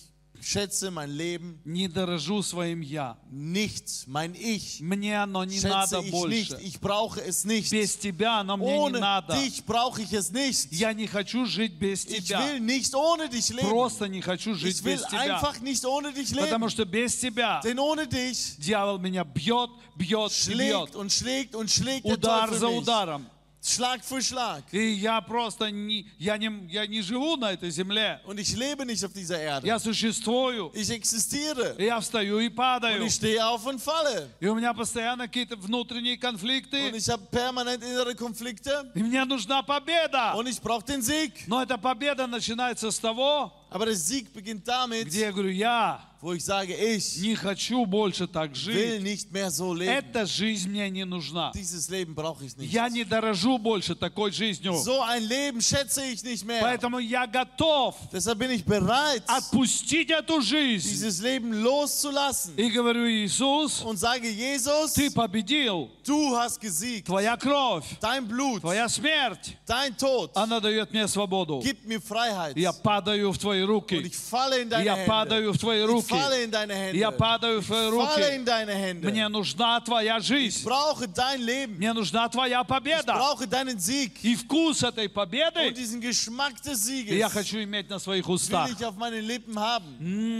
schätze mein Leben не дорожу своим «я». nicht. Mein Ich Мне оно не schätze надо ich больше. nicht. Ich brauche es nicht. Без тебя оно мне не Ohne надо. dich brauche ich es nicht. Я не хочу жить без Ich тебя. will nicht ohne dich leben. Просто не хочу жить Ich will без тебя. einfach nicht ohne dich Потому leben. что без тебя Denn ohne dich дьявол меня бьет, бьет и бьет. schlägt und schlägt und schlägt der Удар Teufel за mich. ударом. Schlag für Schlag. И я просто я не живу на этой земле. Und ich lebe nicht auf dieser Erde. Я существую. Ich existiere. И я встаю и Und падаю. ich stehe auf und falle. И у меня постоянно какие-то внутренние Und конфликты. ich habe permanent innere Konflikte. И мне нужна победа. Und ich brauche den Sieg. Но эта победа начинается с того, Aber der Sieg beginnt damit, где я говорю, я wo ich sage, ich не хочу больше так will жить. nicht mehr so leben. Эта жизнь мне не нужна. Dieses Leben brauche ich nicht. Я не дорожу больше такой жизнью. So ein Leben schätze ich nicht mehr. Поэтому я готов Deshalb bin ich bereit, отпустить эту жизнь. dieses Leben loszulassen. И говорю, Иисус, Und sage, Jesus, ты победил. du hast gesiegt. Твоя кровь, Dein Blut, твоя смерть, dein Tod, она дает мне свободу. gibt mir Freiheit. Я падаю в твои Und руки. ich falle in deine Я Hände. падаю в твои Ich руки. falle in deine Hände. Я падаю в твои Falle руки. in deine Hände. Мне нужна твоя Ich жизнь. brauche dein Leben. Мне нужна твоя Ich победа. brauche deinen Sieg. И вкус этой Und победы diesen Geschmack des Sieges я хочу иметь на своих will устах. ich auf meinen Lippen haben.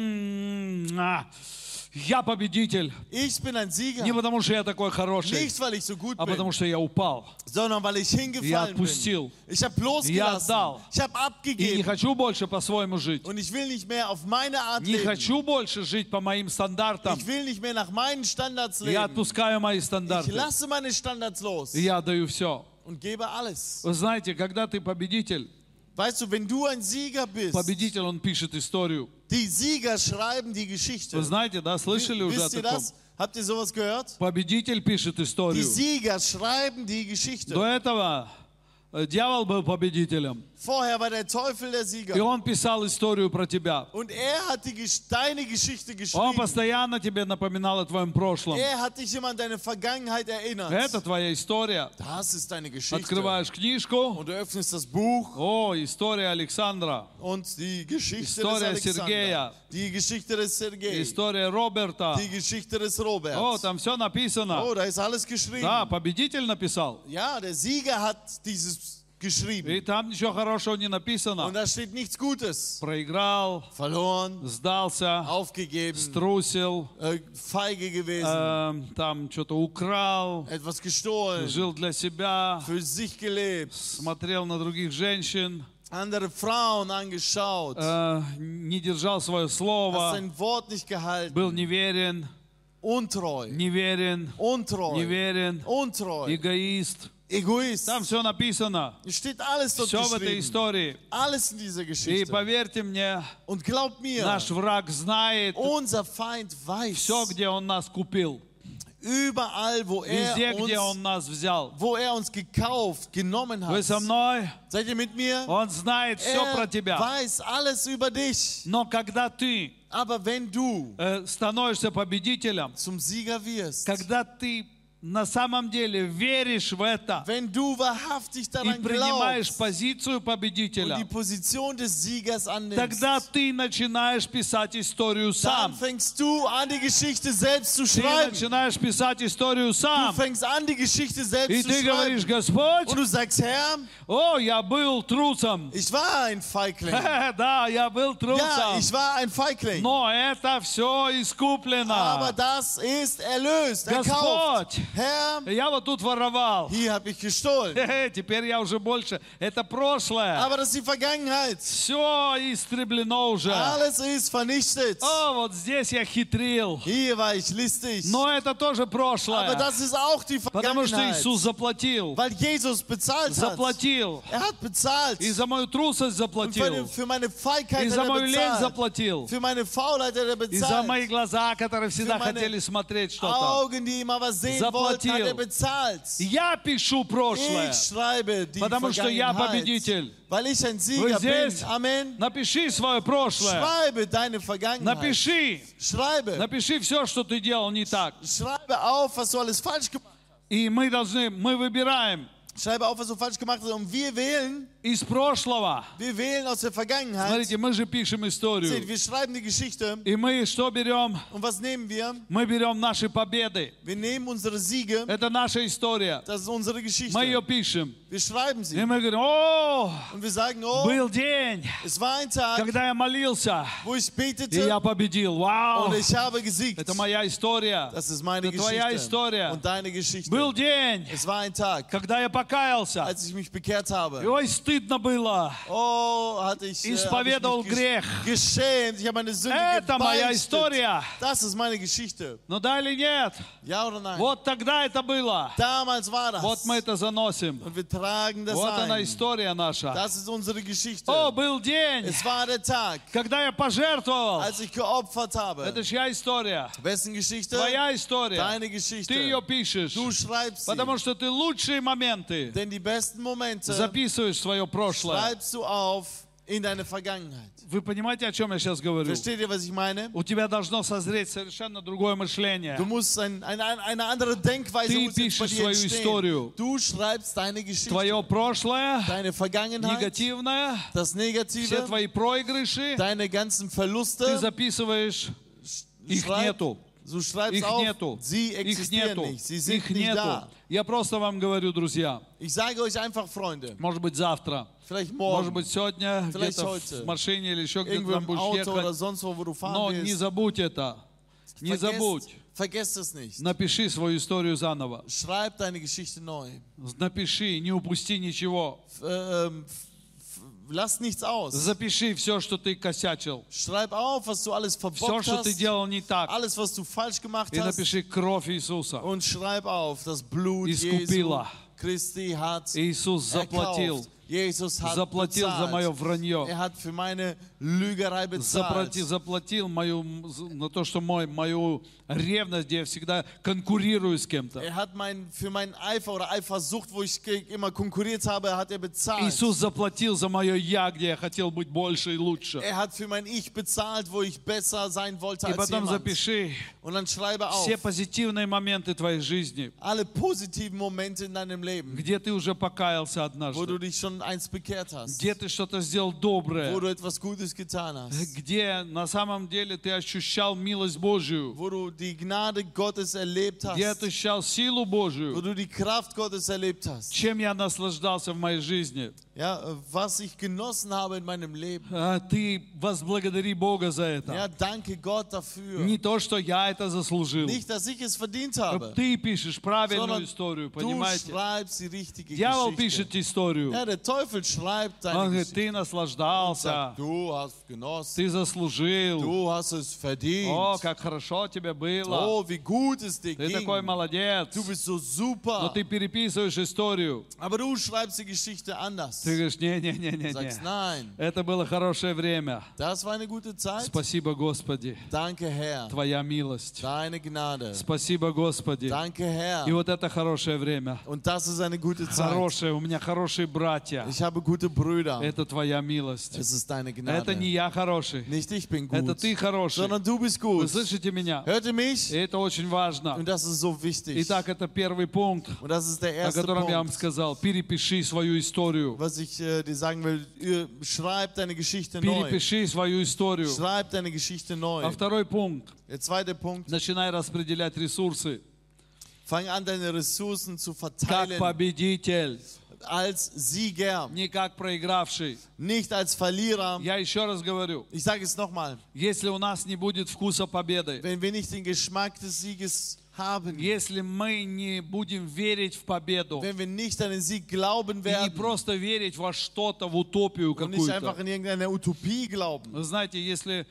Я победитель. Ich bin ein Sieger. Не потому, что я такой хороший, Nicht, weil ich so gut а потому, bin, что я упал. sondern weil ich Я hingefallen bin. отпустил. Ich habe Я losgelassen. отдал. Ich habe И не abgegeben. хочу больше по-своему жить. Und ich will nicht mehr auf meine Art Не leben. хочу больше жить по моим стандартам. Ich will nicht mehr nach meinen Standards Я leben. отпускаю мои Ich стандарты. lasse meine Standards los И я даю все. und gebe alles. Вы знаете, когда ты победитель, Weißt du, wenn du ein Sieger bist, победитель, он пишет историю. die Sieger schreiben die Geschichte. Вы знаете, да, слышали уже о Wisst ihr таком? das? Habt ihr sowas gehört? Победитель пишет Die историю. Sieger schreiben die Geschichte. До этого дьявол был победителем. Vorher war der Teufel der И Sieger. он писал историю про тебя. Und er hat deine Geschichte Он geschrieben. постоянно тебе напоминал о твоем прошлом. Er hat dich immer an deine Vergangenheit erinnert. Это твоя история. Das ist deine Geschichte. Открываешь книжку. Und du öffnest das Buch О, история Александра. und die Geschichte Historia des Sergeja. Alexander. Die Geschichte des Sergei. История Роберта. Die Geschichte des Roberts. О, там все написано. Oh, da ist alles geschrieben. Да, победитель написал. Ja, der Sieger hat dieses geschrieben. И там ничего хорошего не Und написано. da steht nichts Gutes. Проиграл, Verloren, сдался, aufgegeben, струсил, feige gewesen, там что-то украл, etwas gestohlen, жил для себя, für sich gelebt, смотрел на других женщин, andere Frauen angeschaut, не держал свое hast слово, sein Wort nicht gehalten, был неверен, untreu, неверен, untreu, неверен, untreu, эгоист. Egoist. Там все написано. Steht alles dort Все в этой geschrieben. истории. Alles in dieser И Geschichte. поверьте мне, Und glaubt mir, наш враг знает unser Feind weiß, все, где он нас купил. überall, Везде, где он нас взял. wo er uns gekauft, genommen Вы hat. со мной? Seid ihr mit mir? Он знает все про Er тебя. weiß alles über dich. Но когда ты Aber wenn du становишься победителем, zum Sieger wirst, когда ты на самом деле веришь в это wenn du wahrhaftig и daran принимаешь glaubst позицию und die победителя, Position des Siegers annimmst, тогда ты начинаешь писать историю dann сам. fängst du an, die Geschichte selbst zu Ты schreiben. начинаешь писать историю Du сам. fängst an, die Geschichte И selbst zu ты говоришь, schreiben. Господь, Und du sagst, Herr, о, я был трусом. ich war ein Feigling. Да, я был Ja, трусом. ich war ein Feigling. Но это все искуплено. Aber das ist erlöst, erkauft. Господь, Herr, я вот тут воровал. hier habe ich gestohlen. Теперь я уже больше. Это прошлое. Aber das ist die Vergangenheit. Все истреблено уже. Alles ist vernichtet. О, вот здесь я хитрил. Hier war ich listig. Но это тоже Aber прошлое. das ist auch die Потому что Vergangenheit. Иисус заплатил. Weil Jesus bezahlt hat. Заплатил. Er hat bezahlt. И за мою трусость Und заплатил. für meine Feigheit И hat за er мою лень bezahlt. заплатил. Für meine Faulheit hat er И за мои bezahlt. глаза, которые всегда meine хотели смотреть что-то. Augen, die immer was sehen wollten, hat er bezahlt. Я пишу прошлое. Ich schreibe die Потому что я Vergangenheit. победитель. Weil ich ein Вы Sieger bin. здесь? Amen. Напиши свое прошлое. Schreibe deine Vergangenheit. Напиши. Schreibe. Напиши все, что ты делал не так. Schreibe auf, was du alles falsch gemacht hast. И мы выбираем, Schreibe auf, was du falsch gemacht hast. Und wir wählen, из прошлого. Wir wählen aus der Vergangenheit. Смотрите, мы же пишем Seht, историю. wir schreiben die Geschichte. И мы что берем? Und was nehmen wir? Мы берем наши победы. Wir nehmen unsere Siege. Это наша история. Das ist unsere Geschichte. Мы ее пишем. Wir schreiben И sie. мы говорим, о, Und wir sagen, oh, был день, es war ein Tag, когда я молился, wo ich и betete я победил. Вау! und ich habe gesiegt. Это моя история. Das ist meine Это твоя Geschichte история. und deine Geschichte. Был день, Es war ein Tag, когда я покаялся. als ich mich bekehrt habe. И ой, стыдно было. Oh, hatte ich, Исповедовал hab ich mich грех. geschämt. Ich habe meine Sünde Это моя gebeichtet. история. Das ist meine Geschichte. Ну да или нет? Ja oder nein? Вот тогда это было. Damals war das. Вот мы это заносим. Und wir tragen das Вот она ein. история наша. Das ist unsere Geschichte. О, был день, Es war der Tag, когда я пожертвовал. als ich geopfert habe. Это чья история? Wessen Geschichte? Твоя история. Deine Ты Geschichte. ее пишешь. Du schreibst sie. Потому что ты лучшие моменты Denn die besten Momente записываешь в свое прошлое. schreibst du auf in deine Vergangenheit. Вы понимаете, о чем я сейчас говорю? Versteht ihr, was ich meine? У тебя должно созреть совершенно другое мышление. Du musst eine andere Denkweise Ты muss jetzt bei пишешь dir свою entstehen. историю. Du schreibst deine Geschichte. Твое прошлое, Deine Vergangenheit, негативное, das все Negative, твои проигрыши, deine ganzen ты Verluste. записываешь, их нету. Du schreibst Их auf, нету. sie Их existieren нету. nicht. Sie sind Их nicht нету. da. Я просто вам говорю, друзья, Ich sage euch einfach, Freunde, может быть завтра, vielleicht может morgen, быть сегодня, Vielleicht где-то heute. в машине или еще где-то irgendwo там im будешь Auto oder ехать. sonst wo du Но fahren не willst. забудь это. Не забудь. Vergesst es nicht. Напиши свою историю заново. Schreib deine Geschichte neu. Напиши, не упусти ничего. Lass nichts aus. Запиши все, что ты косячил. Schreib auf, was du alles Все, verbockt что ты hast. делал не так. Alles, was du falsch gemacht И hast. напиши кровь Иисуса. Und schreib auf, das Blut Jesu Искупила. Christi hat Иисус заплатил. erkauft. Jesus hat Заплатил за мое bezahlt. вранье. Er hat für meine Lügerei bezahlt. Заплатил на то, что мою ревность, где я всегда конкурирую с кем-то. Er hat für meinen Eifer oder Eifersucht, wo ich immer konkurriert habe, hat er bezahlt. Иисус заплатил за мое «я», где я хотел быть больше и лучше. Er hat für mein Ich bezahlt, wo ich besser sein wollte И als потом jemand. запиши Und dann schreibe auf все позитивные моменты твоей жизни, alle positiven Momente in deinem Leben, где ты уже покаялся wo однажды, du dich schon eins bekehrt hast, где ты что-то сделал wo доброе, du etwas Gutes getan hast, где на самом деле ты ощущал милость Божию, wo du die Gnade Gottes erlebt где hast, ты ощущал силу wo Божию, du die Kraft Gottes erlebt hast. чем я наслаждался в моей жизни. Ja, was ich genossen habe in meinem Leben. Ты возблагодари Бога за Ja, это. danke Gott dafür. Не то, что я это заслужил. Nicht, dass ich es verdient habe, Ты пишешь правильную sondern историю, du понимаете? schreibst die richtige Дьявол Geschichte. пишет историю. Ja, der Teufel schreibt Он deine говорит, Geschichte. ты Und наслаждался, sagt, du hast genossen, ты заслужил. du hast es verdient. О, как хорошо тебе было. Oh, wie gut es dir Ты ging. такой молодец. Du bist so Но super. ты переписываешь историю. Aber du schreibst die Geschichte anders. Ты говоришь, не-не-не-не-не. Sagst nein. Это было хорошее время. Das war eine gute Zeit. Спасибо, Господи. Danke, Herr. Твоя милость. Deine Gnade. Спасибо, Господи. Danke, Herr. И вот это хорошее время. Und das ist eine gute Zeit. Хорошее. У меня хорошие братья. Ich habe gute Brüder. Это твоя милость. Es ist deine Это не Gnade. я хороший. Nicht ich bin Это gut, ты хороший. sondern du bist Вы gut. слышите меня? Hört ihr mich? И это очень важно. Und das ist so wichtig. Итак, это первый пункт, Und das ist der о erste котором я вам Punkt, сказал. Перепиши свою историю. was ich dir sagen will. Schreib deine Geschichte neu. Перепиши свою историю. Schreib deine Geschichte neu. А второй пункт. Der zweite Punkt. Начинай распределять ресурсы. Fang an, deine Ressourcen zu Как verteilen победитель, als Sieger, не как проигравший. nicht als Verlierer. Я еще раз говорю, Ich sage es nochmal. если у нас не будет вкуса победы, Wenn wir nicht den Geschmack des Sieges haben, если мы не будем верить в победу, wenn wir nicht an den Sieg glauben и не werden просто верить во что-то, в утопию und nicht einfach какую-то. in irgendeine Utopie glauben. Вы знаете, если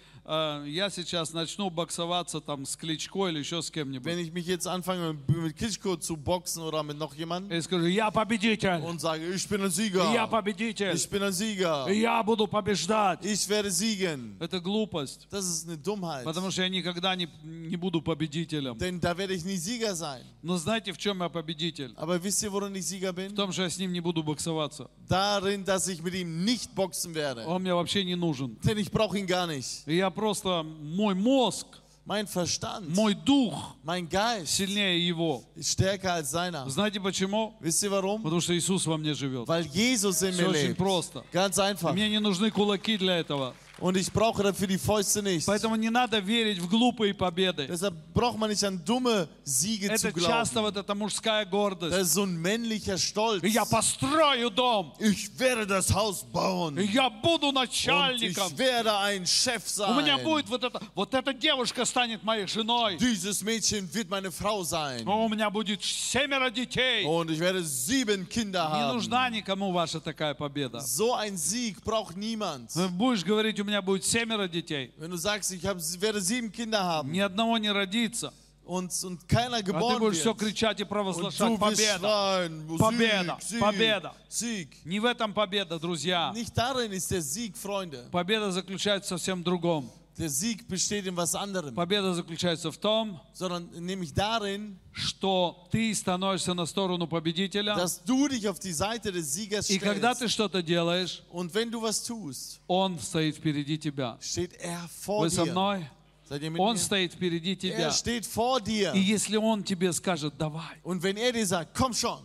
я сейчас начну боксоваться там с Кличко или еще с Wenn кем-нибудь, ich mich jetzt anfange mit Klitschko zu boxen oder mit noch jemandem и скажу, я победитель, und sage, ich bin ein я Sieger, победитель, ich bin ein Sieger, я буду побеждать. ich werde siegen. Это глупость, Das ist eine Dummheit, потому что я никогда не буду победителем. denn da werde ich nie Sieger sein. Но знаете, в чем я победитель? Aber wisst ihr, worin ich Sieger В bin? том, что я с ним не буду боксоваться. Darin, dass ich mit ihm nicht boxen werde. Он мне вообще не нужен. Denn ich brauche ihn gar nicht. И я просто, мой мозг Mein Verstand, мой дух mein Geist сильнее его. ist stärker als seiner. Знаете почему? Wisst ihr warum? Потому что Иисус во мне живет. Weil Jesus in Все mir очень lebt. просто. Ganz einfach. Мне не нужны кулаки для этого. Und ich brauche dafür die Fäuste nicht. Поэтому не надо верить в глупые победы. Deshalb braucht man nicht an dumme Siege zu Это часто glauben. вот эта мужская Das гордость. ist so ein männlicher Stolz. Я построю дом. Ich werde das Haus bauen. Я буду Und начальником. ich werde ein Chef У меня sein. будет вот эта девушка станет моей женой. Dieses Mädchen wird meine Frau sein. У меня будет 7 детей. Und ich werde 7 Kinder Не haben. нужна никому ваша такая победа. So ein Sieg braucht niemand. Будешь говорить, у меня будет 7 детей. Wenn du sagst, werde 7 Kinder haben Ни одного не родится. und keiner А ты geboren будешь все wird. кричать и Und провозглашать du wirst победа. schreien, Победа, Sieg, Sieg, победа. Sieg. Не в этом победа, друзья. Nicht darin ist der Sieg, Freunde. Победа заключается в совсем другом. Der Sieg besteht in was anderem, Победа заключается в том, sondern nämlich darin, что ты становишься на сторону победителя. dass du dich auf die Seite des Siegers И когда ты stellst. что-то делаешь, Und wenn du was tust, он стоит впереди тебя. steht er vor Вы со dir. мной? Seid ihr mit Он mir? стоит впереди тебя. Er steht vor dir. И если он тебе скажет, давай, Und wenn er dir sagt, komm schon,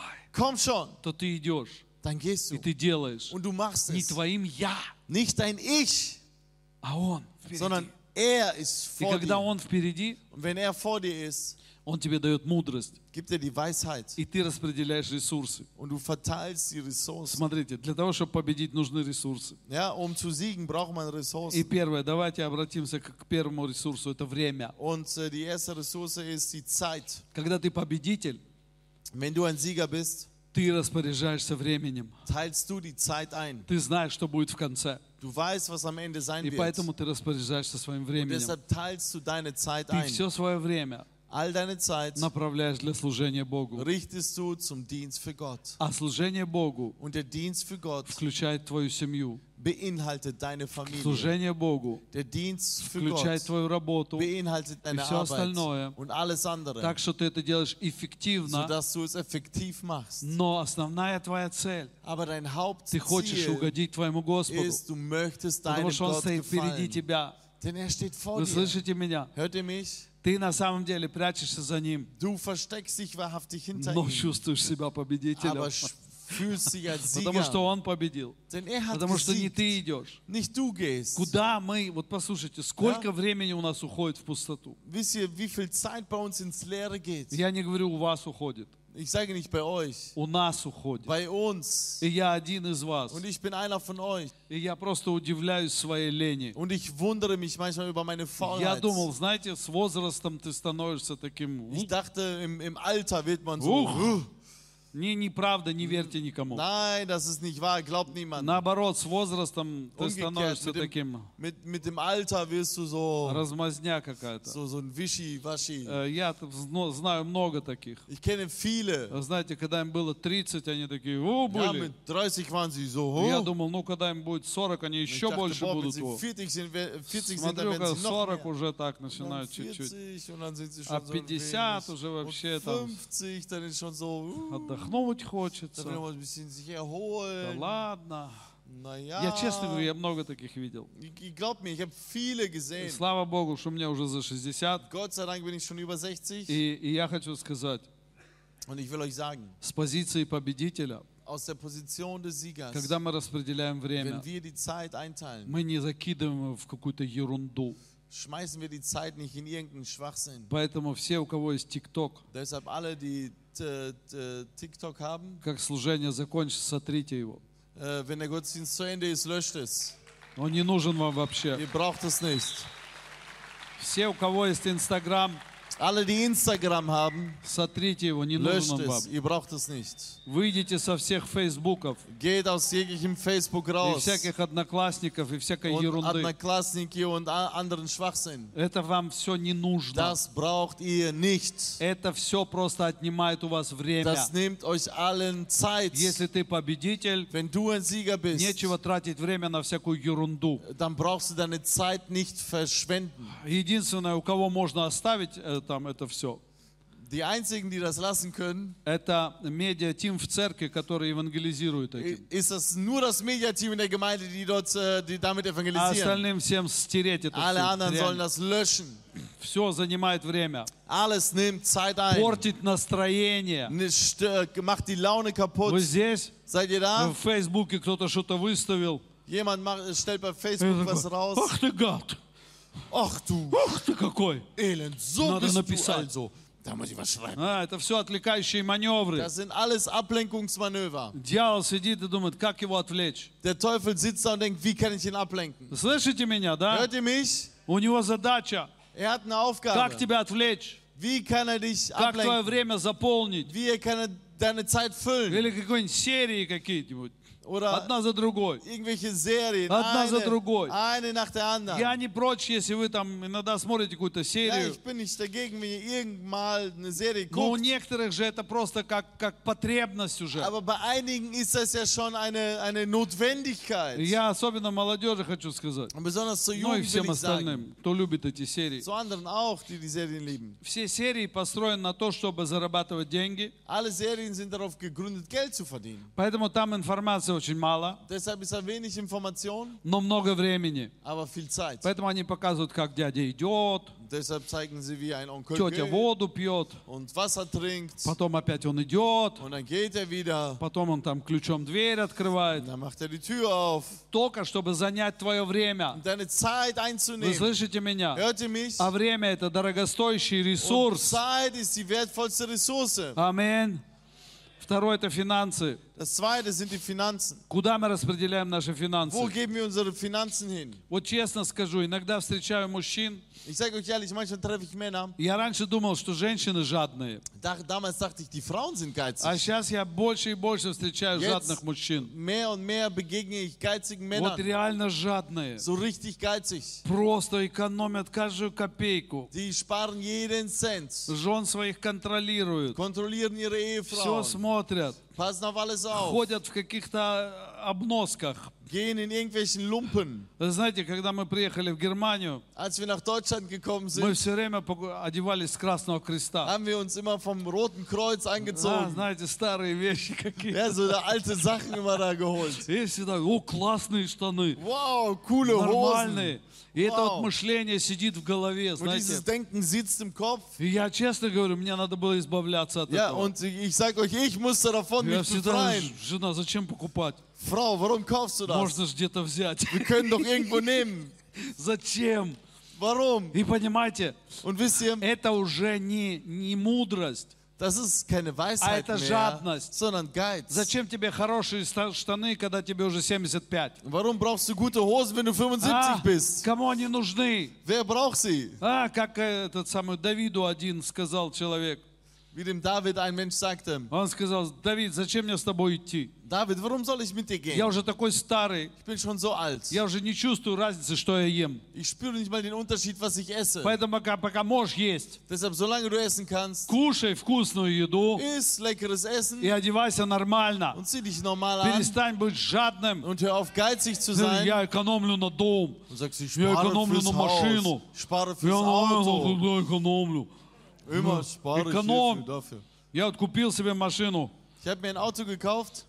то ты идешь, dann gehst и du ты делаешь und du machst не es. твоим «я», Nicht dein Ich, а он sondern впереди. er ist И vor когда dir. он впереди, Und wenn er vor dir ist, он тебе дает мудрость, gibt er die Weisheit и ты распределяешь ресурсы. und du verteilst die Ressourcen. Смотрите, для того, чтобы победить, нужны ресурсы. Ja, um zu siegen, braucht man И Ressourcen. первое, давайте обратимся к первому ресурсу, это время. Und die erste Ressource ist die Zeit. Когда ты победитель, Wenn du ein Sieger bist, ты распоряжаешься временем. teilst du die Zeit ein. Ты знаешь, что будет в конце. Du weißt, was am Ende sein И wird. поэтому ты распоряжаешься своим Und временем. deshalb teilst du deine Zeit Ты ein. все свое время All deine Zeit направляешь для служения Богу. richtest du zum Dienst für Gott. А служение Богу Und der Dienst für Gott включает твою семью. beinhaltet deine Familie. Служение Богу Der Dienst für включает Gott твою работу. beinhaltet deine всё Arbeit остальное. und alles andere, Так что ты это делаешь эффективно. sodass du es effektiv machst. Но основная твоя цель, Aber dein ты хочешь Hauptziel угодить твоему Господу. ist, du möchtest Потому deinem что Он Gott стоит впереди gefallen. тебя. Denn er steht vor Вы dir. слышите меня? Hört ihr mich? Ты на самом деле прячешься за Ним, Du versteckst dich wahrhaftig hinter но ihm, чувствуешь себя победителем. aber fühlst dich als Потому что Sieger. Он победил. Denn er hat Потому что не gesiegt, ты идешь. nicht du gehst. Куда мы, вот послушайте, сколько времени у нас уходит в пустоту. Wisst ihr, wie viel Zeit bei uns ins Leere geht? Я не говорю, у вас уходит. Ich sage nicht bei euch, У нас уходит. bei uns. И я один из вас. Und ich bin einer von euch. И я просто удивляюсь своей лени. Und ich wundere mich manchmal über meine Я Faulheit. думал, знаете, с возрастом ты становишься таким... Ich dachte, im Alter wird man so. Ух! Неправда, не верьте никому. Nein, das ist nicht wahr, glaubt niemand. Наоборот, с возрастом ты Umgekehrt, становишься таким mit dem Alter wirst du so, размазня какая-то. so ein Wischi-Waschi. Я знаю много таких. Ich kenne viele. Знаете, когда им было 30, они такие, о, Ja, были. mit 30 waren sie so. Я Oh. думал, ну, когда им будет 40, они Ich еще dachte, больше boah, wenn будут. sie О. 40 sind, dann Смотрю, werden sie noch 40 mehr. уже так Und dann начинают чуть-чуть. 40 und dann sind sie А schon so 50 ein уже wenig. вообще Und там 50, dann ist schon so. отдохнуть Da хочется. will man ein bisschen sich Да erholen. ладно. Naja. Я честно говорю, я много таких видел. Glaubt mir, ich habe viele И gesehen. слава Богу, что мне уже за 60. Gott sei Dank bin ich schon über 60. И я хочу сказать, Und ich will euch sagen, с позиции победителя, aus der Position des Siegers, когда мы распределяем время, wenn wir die Zeit einteilen, мы не закидываем его в какую-то ерунду. schmeißen wir die Zeit nicht in irgendeinen Schwachsinn. Поэтому все, у кого есть ТикТок, Deshalb alle, die TikTok haben, как служение закончится, сотрите его. wenn der Gottesdienst zu Ende ist, löscht es. Он не нужен вам вообще. Ihr braucht es nicht. Все, у кого есть Инстаграм, Alle, die Instagram haben, сотрите его, не löscht нужен он вам. es. Ihr braucht es nicht. Выйдите со всех Фейсбуков Geht aus jeglichem Facebook и raus. всяких одноклассников и всякой Und ерунды. Одноклассники und anderen Schwachsinn. Это вам все не нужно. Das braucht ihr nicht. Это все просто отнимает у вас время. Das nimmt euch allen Zeit. Если ты победитель, Wenn du ein Sieger bist, нечего тратить время на всякую ерунду. dann brauchst du deine Zeit nicht verschwenden. Единственное, у кого можно оставить там это все, Die einzigen, die das lassen können, это медиа-тим в церкви, который евангелизирует этим. ist das nur das Mediateam in der Gemeinde, die damit А evangelisieren. остальным всем стереть это Alle anderen все. sollen das löschen. все занимает время. Alles nimmt Zeit ein. Портит настроение. Macht die Laune kaputt. Вы здесь? Seid ihr da? В Фейсбуке кто-то что-то выставил. Jemand stellt bei Я Facebook was такой, raus. ах ты гад! Ach du Ах ты какой! Elend, so Надо bist du написать. also. Da muss ich was schreiben. Это все отвлекающие маневры. Das sind alles Ablenkungsmanöver. Дьявол сидит и думает, как его отвлечь. Der Teufel sitzt da und denkt, wie kann ich ihn ablenken? Слышите меня, да? Hört ihr mich? У него задача, Er hat eine как Aufgabe. тебя отвлечь, Wie kann er dich как твое ablenken? время заполнить. Wie kann er deine Zeit füllen? Или какой-нибудь серии какие-нибудь. Oder Одна за другой. irgendwelche Serien. Одна за другой. Eine nach der anderen. Я не прочь, если вы там иногда смотрите какую-то Ja, серию. ich bin nicht dagegen, wenn ihr irgendwann eine Serie Но у guckt. некоторых же это просто как потребность уже. Aber bei einigen ist das ja schon eine Notwendigkeit. Я особенно молодежи хочу сказать. Und besonders zur Ну и Jugend всем will ich sagen. остальным, кто любит эти серии. Zu anderen auch, die die Serien lieben. Все серии построены на то, чтобы зарабатывать деньги. Alle Serien sind darauf gegründet, Geld zu verdienen. Поэтому там информации очень мало, Deshalb ist da wenig Information, но много времени. aber viel Zeit. Поэтому они показывают, как дядя идет, Deshalb zeigen sie, wie ein Onkel тетя geht воду пьет, und Wasser trinkt. потом опять он идет, Und dann geht er wieder. потом он там ключом дверь открывает. Und dann macht er die Tür auf. Только чтобы занять твое время. Um deine Zeit Вы einzunehmen. слышите меня? Hört ihr mich? А время это дорогостоящий Und ресурс. Zeit ist die wertvollste Ressource. Аминь. Второе это финансы. Das zweite sind die Finanzen. Куда мы распределяем наши Wo финансы? geben wir unsere Finanzen hin? Вот честно скажу, иногда встречаю мужчин. Ich sage euch ehrlich, manchmal treffe ich Männer. Я раньше думал, что женщины жадные. Damals dachte ich, die Frauen sind А geizig. сейчас я больше и больше встречаю жадных мужчин. Mehr und mehr begegne ich geizigen Вот Männern. реально жадные. So richtig geizig. Просто экономят каждую копейку. Die sparen jeden Cent. Жен своих контролируют. Kontrollieren ihre Все Ehefrauen. смотрят. Passen auf alles auf. Ходят в каких-то обносках. Gehen in irgendwelchen Lumpen. Вы знаете, когда мы приехали в Германию, Als wir nach Deutschland gekommen мы sind, все время одевались с Красного Креста. haben wir uns immer vom Roten Kreuz angezogen. Знаете, старые вещи какие. Ja, so alte Sachen immer da geholt. И всегда, о, классные штаны, Wow, coole Hosen. нормальные. И это вот Вау. мышление сидит в голове, Und dieses знаете. Denken sitzt im Kopf. И я честно говорю, мне надо было избавляться от Ja, этого. und ich sage euch, ich musste davon Я mich всегда, befreien. жена, зачем покупать? Frau, warum kaufst du das? Можно же где-то взять. Wir können doch irgendwo nehmen. Зачем? Warum? И понимаете, Und wisst ihr, это уже не мудрость. das ist keine Weisheit это mehr, жадность. sondern Geiz. Зачем тебе хорошие штаны, когда тебе уже 75? Warum brauchst du gute Hosen, wenn du 75 bist? Кому они нужны? Wer braucht sie? Как этот самый Давиду один сказал человек. Wie dem David ein Mensch sagte, Он сказал, Давид, зачем мне с тобой идти? David, warum soll ich mit dir Я gehen? уже такой старый, Ich bin schon so alt. я уже не чувствую разницы, что я ем. Ich spüre nicht mal den Unterschied, was ich esse. Поэтому пока можешь есть, Deshalb, solange du essen kannst, кушай вкусную еду iss leckeres Essen и одевайся нормально. und zieh dich normal an Перестань быть жадным. und hör auf, geizig zu sein. Я экономлю на дом. Und sagst, ich Я spare экономлю fürs на Haus, машину. ich spare Я fürs Auto. экономлю. Immer spare ich Ökonom. hierfür, dafür. Я вот купил себе машину. Ich habe mir ein Auto gekauft,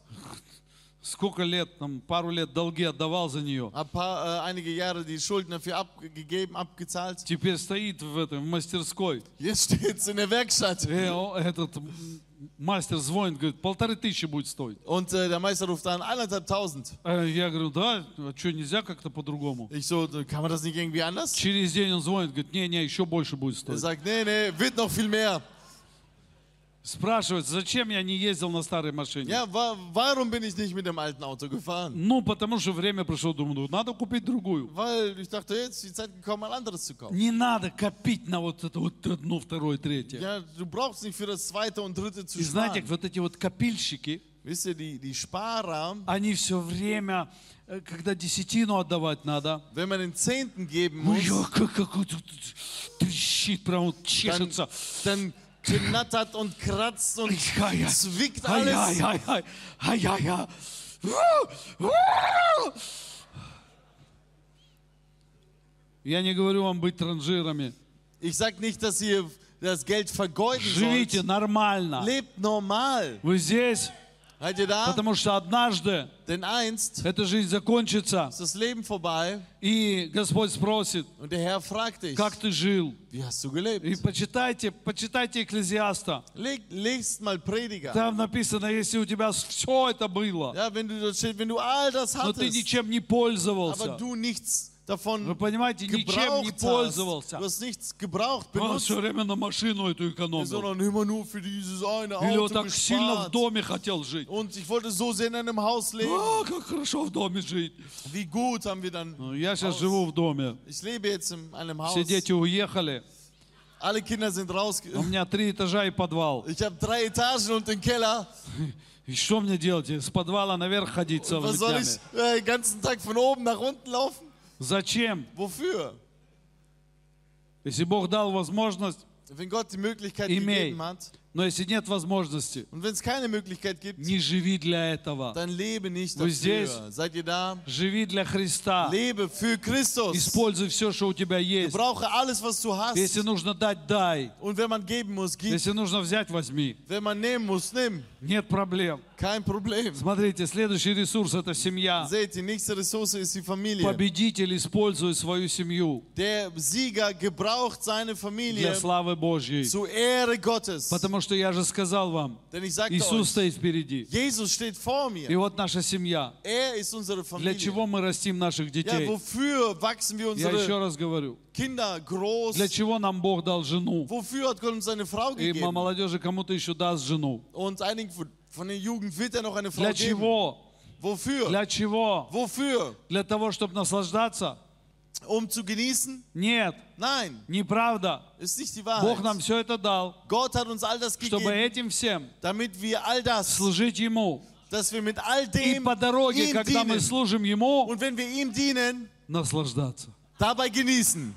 Сколько лет, там, пару лет долги отдавал за нее. habe einige Jahre die Schulden dafür abgegeben, abgezahlt. Теперь стоит в мастерской. Jetzt steht es in der Werkstatt. Этот мастер звонит, говорит, 1500 будет стоить. Und der Meister ruft an, 1500. Я говорю, да, а что, нельзя как-то по-другому? Ich so, kann man das nicht irgendwie anders? Через день он звонит, говорит, не, еще больше будет Er стоить. sagt, nee, wird noch viel mehr. Спрашивает, зачем я не ездил на старой машине? Ja, warum bin ich nicht mit dem alten Auto gefahren? Ну, потому что время пришло, думаю, надо купить другую. Weil ich dachte, jetzt ist die Zeit gekommen, ein anderes zu kaufen. Не надо копить на вот это вот одно, второе, третье. Ja, du brauchst nicht für das zweite und dritte zu И знаете, sparen. вот эти вот копильщики, Wisst ihr, die Sparer, они все время, когда десятину отдавать надо, wenn man den Zehnten geben ой, muss, как вот трещит, прям вот чешется. dann knattert und kratzt und zwickt alles. Ай-яй-яй. Я не говорю вам быть транжирами. Ich sag nicht, dass ihr das Geld vergeuden Живите sollt. нормально. Lebt normal. Вы здесь? Seid ihr da? Потому что однажды Denn einst эта жизнь закончится, ist das Leben vorbei и Господь спросит, und der Herr fragt dich, как ты жил? wie hast du gelebt? И почитайте Экклезиаста. Lest mal Prediger. Там написано, если у тебя все это было, Ja, wenn du dort steht, wenn du all das но ты hattest, ничем не aber пользовался. du nichts Вы davon понимаете, ничем не gebraucht hast, пользовался. du hast nichts gebraucht, Он benutzt, все время на машину эту экономил. sondern immer nur für dieses eine Или он Auto так сильно в gespart. доме хотел жить. Und ich wollte so sehr in einem Haus leben. Как хорошо в доме жить. Wie gut haben wir dann. Ну, я сейчас живу в доме. Ich lebe jetzt in einem Haus. Все дети уехали. Alle Kinder sind raus. У меня 3 этажа и подвал. Ich habe 3 Etagen und den Keller. И что мне делать? С подвала наверх ходить Und целыми was soll днями? ich den ganzen Tag von oben nach unten laufen? Зачем? Wofür? Если Бог dал возможность, Wenn Gott die Möglichkeit Имей. gegeben hat. но если нет возможности, Und wenn es keine Möglichkeit gibt, не живи для этого. dann lebe nicht Вы здесь? dafür. Seid ihr da? Живи для Христа. Lebe für Christus. Используй все, что у тебя есть. Gebrauche alles, was du hast. Если нужно дать, дай. Und wenn man geben muss, gib. Если нужно взять, возьми. Wenn man nehmen muss, nimm. Нет проблем. Kein Problem. Смотрите, следующий ресурс – это семья. Seht, die nächste Ressource ist die Familie. Победитель использует свою семью Der Sieger gebraucht seine для Familie славы Божьей. zur Ehre Gottes. Потому что я же сказал вам, Denn ich sagte Иисус euch, стоит впереди. Jesus steht vor И mir. вот наша семья. Er ist unsere Для Familie. чего мы растим наших Ja, детей? wofür wachsen wir Я еще unsere раз говорю. Kinder groß? Для чего нам Бог дал жену? Wofür hat Gott uns eine Frau И gegeben? молодежи кому-то еще даст жену. Und einigen von der Jugend wird er noch eine Frau Для geben. чего? Wofür? Для чего? Wofür? Для того, чтобы наслаждаться? Um zu genießen? Нет, Nein, неправда. ist nicht die Бог нам Wahrheit. все это дал, Gott hat uns all das чтобы gegeben, этим всем damit wir all das, служить Ему. dass wir mit all И dem по дороге, ihm когда мы dienen. служим Ему, Und wenn wir ihm dienen, наслаждаться. dabei genießen.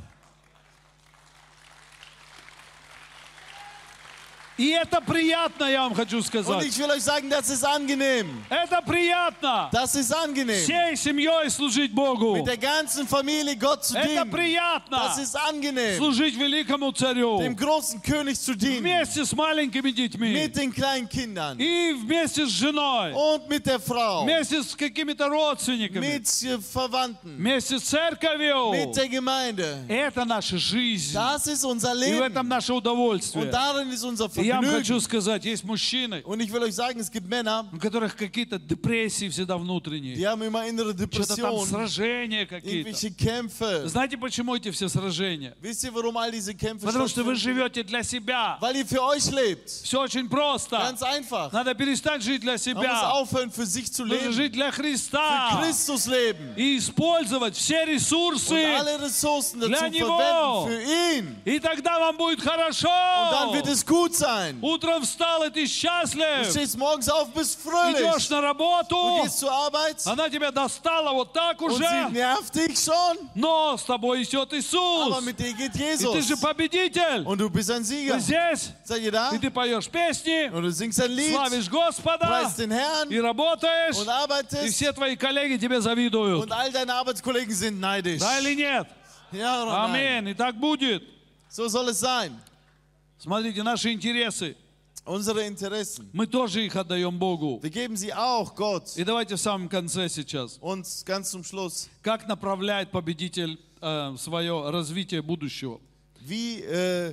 И это приятно, я вам хочу Und сказать. ich will euch sagen, das ist angenehm. Это приятно. Das ist angenehm. Всей семьей служить Богу. Mit der ganzen Familie Gott zu Это dienen. приятно. Das ist angenehm. Служить великому царю. Dem großen König zu dienen. Вместе с маленькими детьми. Mit den kleinen Kindern. И вместе с женой. Und mit der Frau. Вместе с какими-то родственниками. Mit Verwandten. Вместе с церковью. Mit der Gemeinde. Это наша жизнь. Das ist unser И в этом Leben. наше удовольствие. Und darin ist unser И я вам Vergnügen. хочу сказать, есть мужчины, Und ich will euch sagen, es gibt Männer, у которых какие-то депрессии всегда внутренние. die haben immer innere Что-то там Depressionen, сражения какие-то. irgendwelche Kämpfe. Знаете, почему эти все сражения? Wisst ihr, warum all diese Kämpfe Потому что вы stattfinden? живете для себя. Weil ihr für euch lebt. Все очень просто. Ganz einfach. Надо перестать жить для Man muss себя. aufhören, für sich zu Нужно leben. жить для Für Христа. Christus leben. И использовать все Und ресурсы. alle Ressourcen dazu Для него. verwenden für ihn. И тогда вам будет хорошо. Und dann wird es gut sein. Утром встал, и ты Du счастлив. stehst morgens auf, bist Идешь fröhlich. на Du работу. gehst zur Arbeit Она тебя достала вот так und sie уже. nervt dich schon. Но с тобой идет Aber Иисус. mit dir geht И ты же Jesus. победитель. Und du bist ein Ты Sieger. здесь. Seid ihr da? И ты поешь песни. Und du singst ein Lied, Славишь Господа. preist den Herrn И работаешь. und И arbeitest. все твои коллеги тебе завидуют. Und all deine Arbeitskollegen sind neidisch. Да или нет? Ja oder nein? Аминь. И так будет. So soll es sein. Смотрите, наши интересы. Unsere Interessen. Мы тоже их отдаем Богу. Wir geben sie auch Gott. И давайте в самом конце сейчас. Und ganz zum Schluss. Как направляет победитель свое развитие будущего? Wie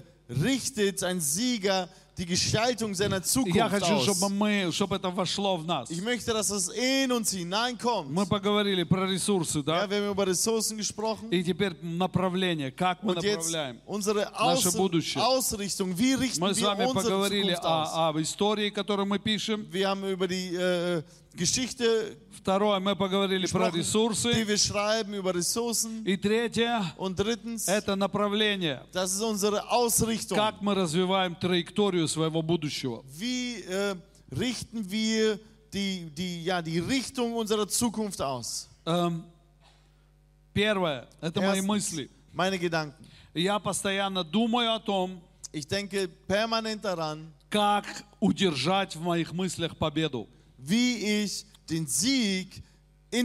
richtet ein Sieger die Gestaltung seiner Я Zukunft хочу, aus? чтобы это вошло в нас. Ich möchte, dass es in uns hineinkommt. Мы поговорили про ресурсы, Ja, да? wir haben über Ressourcen gesprochen. И теперь направление, как мы Und jetzt направляем. unsere Наше будущее. Ausrichtung. Wie richten Мы с wir вами unsere поговорили Zukunft aus? об истории, которую мы пишем. Wir haben über die Geschichte Второе, мы поговорили про gesprochen, die ресурсы. wir schreiben, über Ressourcen. И третье, Und drittens, это направление. das ist unsere Ausrichtung. Как мы развиваем траекторию своего будущего. Wie richten wir die Richtung unserer Zukunft aus? Первое, это мои Erstens, мысли. meine Gedanken. Я постоянно думаю о том, Ich denke permanent daran, как удержать в моих мыслях победу. wie ich den Sieg in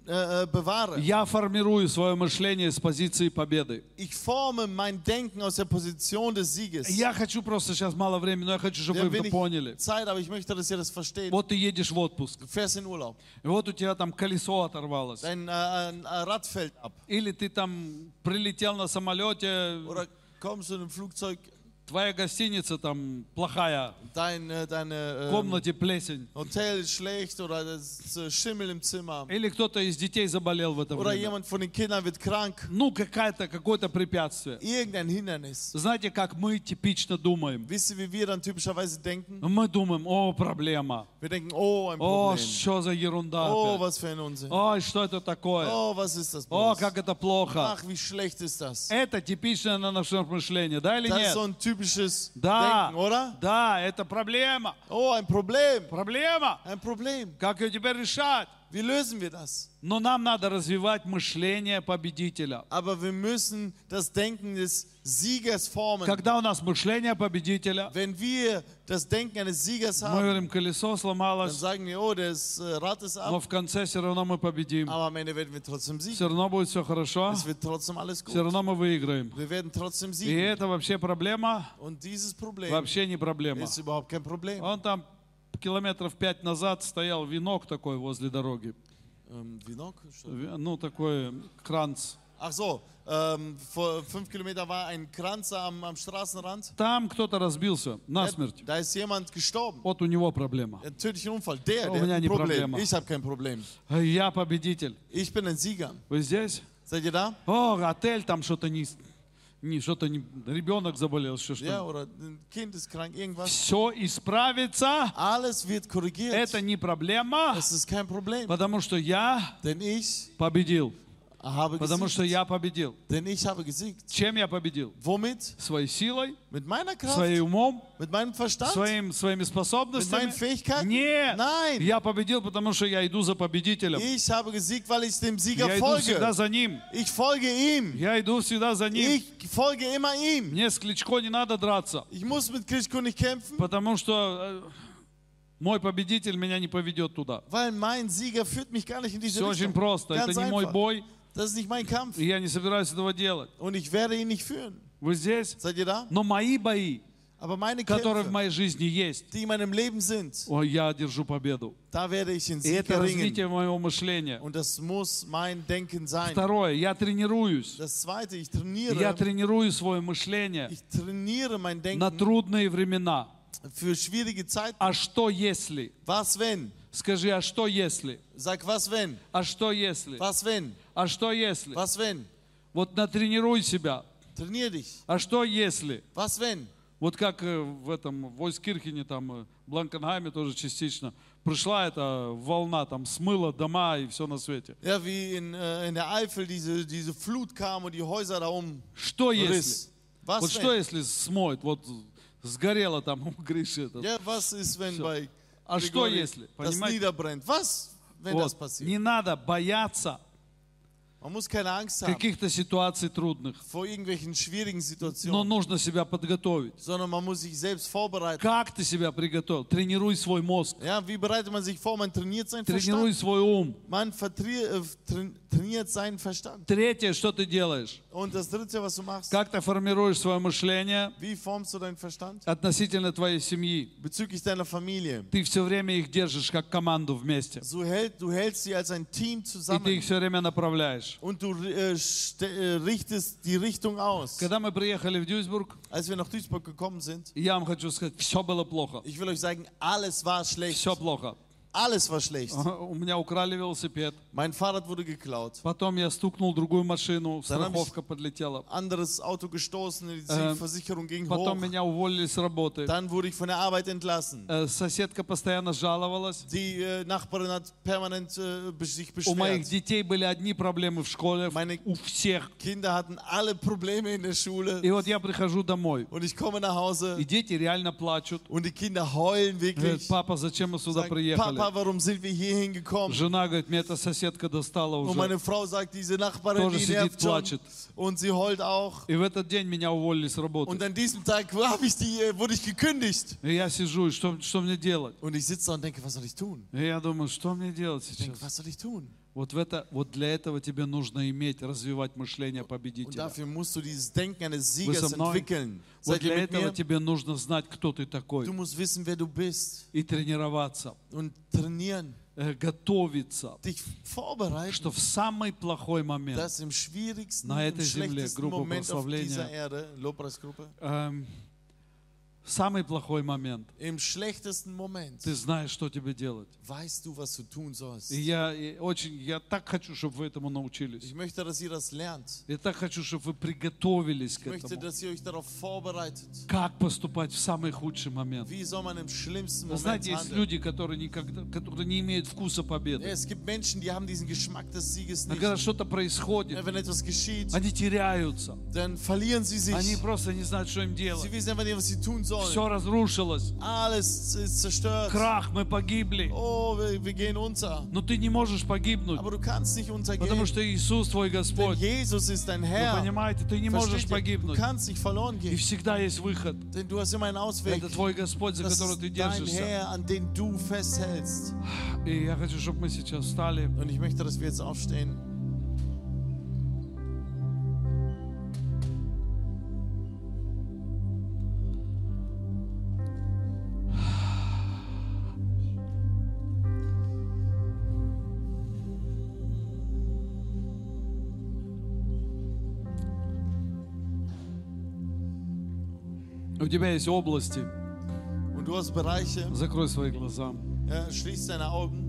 bewahre. Я формирую свое мышление с позиции победы. Ich forme mein Denken aus der Position des Sieges. Я хочу просто, сейчас мало времени, но я хочу, чтобы Wir вы haben это wenig поняли. Zeit, aber ich möchte, dass ihr das versteht. Вот ты едешь в отпуск, Du fährst in Urlaub. и вот у тебя там колесо оторвалось. Dein Rad fällt ab. Или ты там прилетел на самолете, Oder kommst du in einem Flugzeug, твоя гостиница там плохая, в deine комнате плесень. Hotel ist schlecht oder das Schimmel im Zimmer. Или кто-то из детей заболел в это Oder время. jemand von den Kindern wird krank. Ну, какое-то препятствие. Irgendein Hindernis. Знаете, как мы типично думаем? Wisst ihr, wie wir dann typischerweise denken? Мы думаем, о, проблема. Wir denken, oh, ein О, Problem. что за ерунда Oh, опять. was für ein Unsinn. Ой, что это такое? Oh, was ist das О, bloß? как это плохо. Ach, wie schlecht ist das? Это типичное на наше мышление, да или Das ist нет? so ein typisches Да, Denken, oder? да, это проблема. Oh, ein Problem. Проблема. Ein Problem. Как ее теперь решать? Wie lösen wir das? Но нам надо развивать мышление победителя. Aber wir müssen das Denken des Siegers formen. Когда у нас мышление победителя, Wenn wir das Denken eines Siegers мы haben, говорим, колесо dann сломалось, sagen wir, oh, das Rad ist но ab, в конце все равно мы победим. aber am Ende werden wir trotzdem siegen. Все равно будет все хорошо, Es wird trotzdem alles все gut. равно мы выиграем. Wir werden trotzdem И siegen. это вообще проблема? Und dieses Problem Вообще не проблема. ist überhaupt kein Problem. Он там километров 5 назад стоял венок такой возле дороги. Vinok? Ну, такой кранц. Ach so, vor 5 Kilometern war ein Kranz am Straßenrand. Там кто-то разбился насмерть. Da ist jemand gestorben. Вот у него проблема. Ein tödlicher Unfall. Der У hat меня ein не Problem. проблема. Ich habe kein Problem. Я победитель. Ich bin ein Sieger. Вы здесь? Seid ihr da? О, отель там что-то ребенок заболел, еще Ja, что-то. oder ein Kind ist krank, irgendwas. Все исправится. Alles wird korrigiert. Это не проблема, Es ist kein Problem. потому что я Denn ich победил. habe Потому что gesiegt. я победил. Denn ich habe gesiegt. Чем я победил? Womit? Своей силой, Mit meiner Kraft? своим умом, Mit meinem Verstand? своими Mit способностями. meinen Fähigkeiten? Нет, Nein. я победил, потому что я иду за победителем. Ich habe gesiegt, weil ich dem Sieger Я иду всегда folge. за ним. Ich folge ihm. Я иду всегда за ним. Ich folge immer ihm. Мне с Кличко не надо драться, Ich muss mit Klitschko nicht kämpfen, потому что мой победитель меня не поведет туда. weil mein Sieger führt mich gar nicht in diese Все очень Richtung. просто. Это Ganz не мой einfach. бой, Das ist nicht mein Kampf. и я не собираюсь этого делать. Und ich werde ihn nicht führen. Вы здесь? Seid ihr da? Но мои бои, Aber meine которые в Kämpfe, моей жизни есть, die in meinem Leben sind, я держу победу. da werde ich den И Sieg это развитие erringen. моего мышления. Und das muss mein Denken sein. Второе, я тренируюсь. Das Zweite, ich Я trainiere. тренирую свое мышление Ich trainiere mein на Denken трудные времена. für schwierige Zeiten. А что если? Was wenn? Скажи, а что если? Sag, was wenn? А что если? Was wenn? А что если? Was wenn? Вот натренируй себя. Trainier dich. А что если? Was wenn? Вот как в этом в Ойскирхене, там, в Бланкенхайме тоже частично, пришла эта волна, там, смыла дома и все на свете. Ja, wie in der Eifel diese Flut kam und die Häuser da Что если? umriss. Was Вот что wenn? если смоет? Вот сгорело там у Гриши этот. Ja, was ist, wenn bei А что Grigori если? das Понимаете? niederbrennt? Was, wenn das Вот. passiert? Не надо бояться Man muss keine Angst haben каких-то ситуаций трудных, vor irgendwelchen schwierigen но Situationen, нужно себя подготовить. sondern man muss sich selbst vorbereiten. Как ты себя приготовил? Тренируй свой мозг, Ja, wie bereitet man sich vor? Man trainiert seinen тренируй Verstand. свой ум. Man trainiert seinen Verstand. Третье, что ты делаешь? Und das Dritte, was du machst, Как ты формируешь свое мышление wie formst du deinen Verstand? относительно твоей семьи? Bezüglich deiner Familie. Ты все время их держишь как команду вместе. Du hältst sie als ein Team И ты их zusammen все время направляешь. und du richtest die Richtung aus. Когда мы приехали в Дюйсбург, Als wir nach Duisburg gekommen sind, я вам хочу сказать, все было плохо. ich will euch sagen, alles war schlecht. Все плохо. Alles war schlecht. У меня украли велосипед. Mein Fahrrad wurde geklaut. Потом я стукнул другую машину, Dann hab ich- страховка подлетела. Anderes Auto gestoßen, die Versicherung ging Потом hoch. меня уволили с работы. Dann wurde ich von der Arbeit entlassen. Соседка постоянно жаловалась. Die Nachbarin hat permanent sich У моих beschwert. детей были одни проблемы в школе, Meine у всех. Kinder hatten alle Probleme in der Schule. И вот я прихожу домой, Und ich komme nach Hause и дети реально плачут. und die Kinder heulen Говорят, wirklich. папа, зачем мы сюда Sagen, приехали? Papa, warum sind wir hier hingekommen? Жена говорит, мне эта соседка достала Und уже. meine Frau sagt, diese Nachbarin, Тоже die сидит, nervt schon. плачет. Und sie heult auch. И в этот день меня уволили с Und работы. an diesem Tag wurde ich gekündigt. И я сижу, и что мне делать? Und ich sitze da und denke, was soll ich tun? И я думаю, что мне делать Ich denke, сейчас? was soll ich tun? Вот для этого тебе нужно иметь, развивать мышление Und победителя. dafür musst du dieses Denken eines Вы Siegers со мной? entwickeln. Вот Seid ihr для mit этого mir? тебе нужно знать, кто ты такой, Du musst wissen, wer du bist и тренироваться, und trainieren, готовиться, dich vorbereiten, что в самый плохой момент, dass im schwierigsten, на im этой земле, schlechtesten группа Moment auf dieser прославления, Erde, Lobpreisgruppe, в самый плохой момент, im schlechtesten Moment ты знаешь, что тебе делать. weißt du, was du tun sollst. И я так хочу, чтобы вы этому научились. Ich möchte, dass ihr das lernt. Я так хочу, чтобы вы приготовились Ich к möchte, этому. dass ihr euch darauf vorbereitet. Как поступать в самый худший момент. Wie soll man im schlimmsten Вы Moment знаете, есть handeln? люди, которые не имеют вкуса Ja, победы. es gibt Menschen, die haben diesen Geschmack des Sieges Но nicht. когда что-то происходит, Ja, wenn etwas geschieht, они теряются. dann verlieren sie sich. Они просто не знают, что им Sie делать. wissen einfach nicht, was sie tun sollen. Все разрушилось. Alles ist zerstört. Крах, мы погибли. Oh, wir gehen unter. Но ты не можешь погибнуть, Aber du kannst nicht untergehen. потому что Иисус твой Denn Господь. Jesus ist dein Вы Herr. понимаете, ты не можешь Versteht ihr? Du погибнуть. kannst nicht verloren И gehen. всегда есть выход. Denn du hast immer einen Ausweg. Это твой Господь, за Das который ist ты dein держишься. Herr, an den du festhältst. И я хочу, чтобы мы сейчас встали. Und ich möchte, dass wir jetzt aufstehen. У тебя есть области. Und du hast Bereiche. Закрой свои глаза. Ja, schließ deine Augen.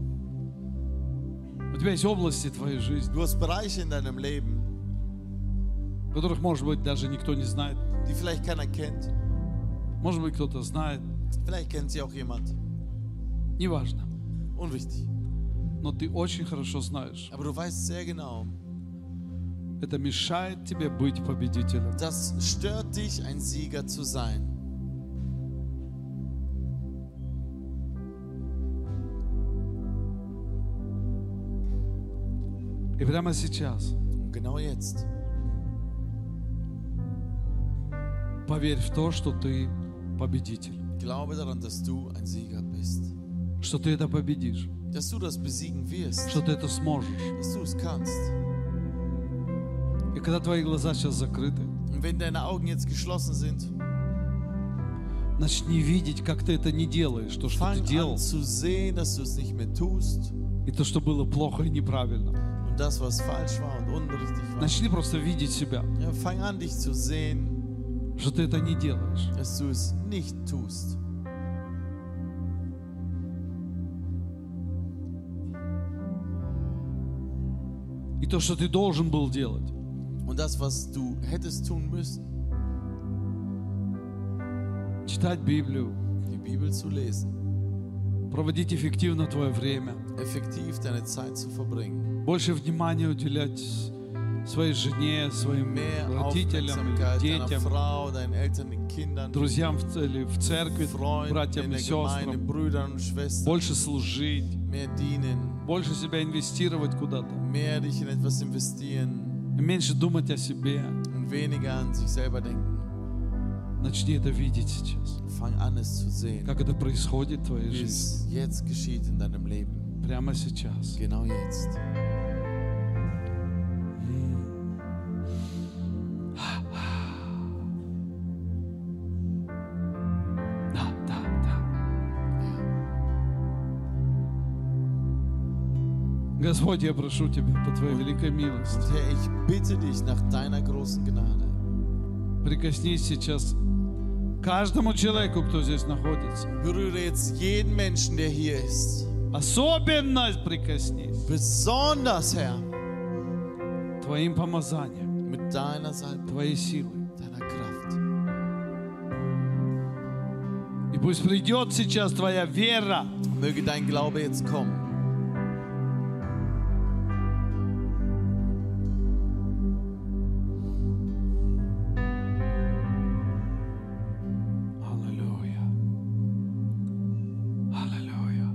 У тебя есть области твоей жизни, Du hast Bereiche in deinem Leben, которых, может быть, даже никто не знает. die vielleicht keiner kennt. Может быть, кто-то знает. Vielleicht kennt sie auch jemand. Неважно. Unwichtig. Но ты очень хорошо знаешь. Aber du weißt sehr genau, Это мешает тебе быть победителем. das stört dich, ein Sieger zu sein. И прямо сейчас Und genau jetzt поверь в то, что ты победитель. glaube daran, dass du ein Sieger bist. Что ты это победишь. Dass du das besiegen wirst. Что ты это сможешь. Dass du es kannst. И когда твои глаза сейчас закрыты, Und wenn deine Augen jetzt geschlossen sind, начни видеть, как ты это не делаешь. То, что ты fang делал, an zu sehen, dass du es nicht mehr tust. и то, что было плохо и неправильно. Und das, was falsch war und unrichtig war. Начни просто видеть себя, Ja, fang an, dich zu sehen, что ты это не делаешь. dass du es nicht tust. И то, что ты должен был делать, Und das, was du hättest tun müssen, читать Библию, die Bibel zu lesen, проводить эффективно твое время, effektiv deine Zeit zu verbringen, больше внимания уделять своей жене, своим mehr родителям, Aufmerksamkeit или deiner детям, Frau, deinen Eltern, den Kindern, друзьям в церкви, Freunden братьям in и der Gemeinde, сестрам, Brüdern und Schwestern, больше служить, mehr dienen, больше себя инвестировать куда-то, mehr dich in etwas investieren и меньше думать о себе. und weniger an sich selber denken. Начни это видеть сейчас, Fang an, es zu sehen, как это происходит в твоей wie жизни, es jetzt geschieht in deinem Leben. прямо сейчас. Genau jetzt. Да, да, да. Господь, я прошу Тебя по Твоей великой милости, Und Herr, ich bitte dich nach deiner großen Gnade, прикоснись сейчас к каждому человеку, кто здесь находится. berühre jetzt jeden Menschen, der hier ist. Особенно прикоснись Besonders, Herr, Твоим помазанием, mit deiner Salbung, Твоей силой. deiner Kraft. И пусть придет сейчас Твоя вера, Möge dein Glaube jetzt kommen. Аллилуйя. Аллилуйя.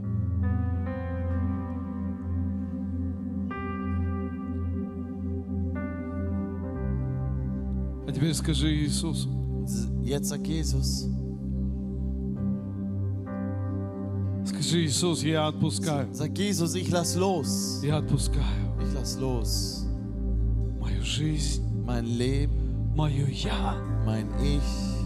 А теперь скажи Иисусу: Jetzt sag Jesus, скажи Скажи, Иисус, я отпускаю. Sag Jesus, ich lass los. Я отпускаю Ich lass los. мою жизнь, Mein Leben, мое я. mein Ich.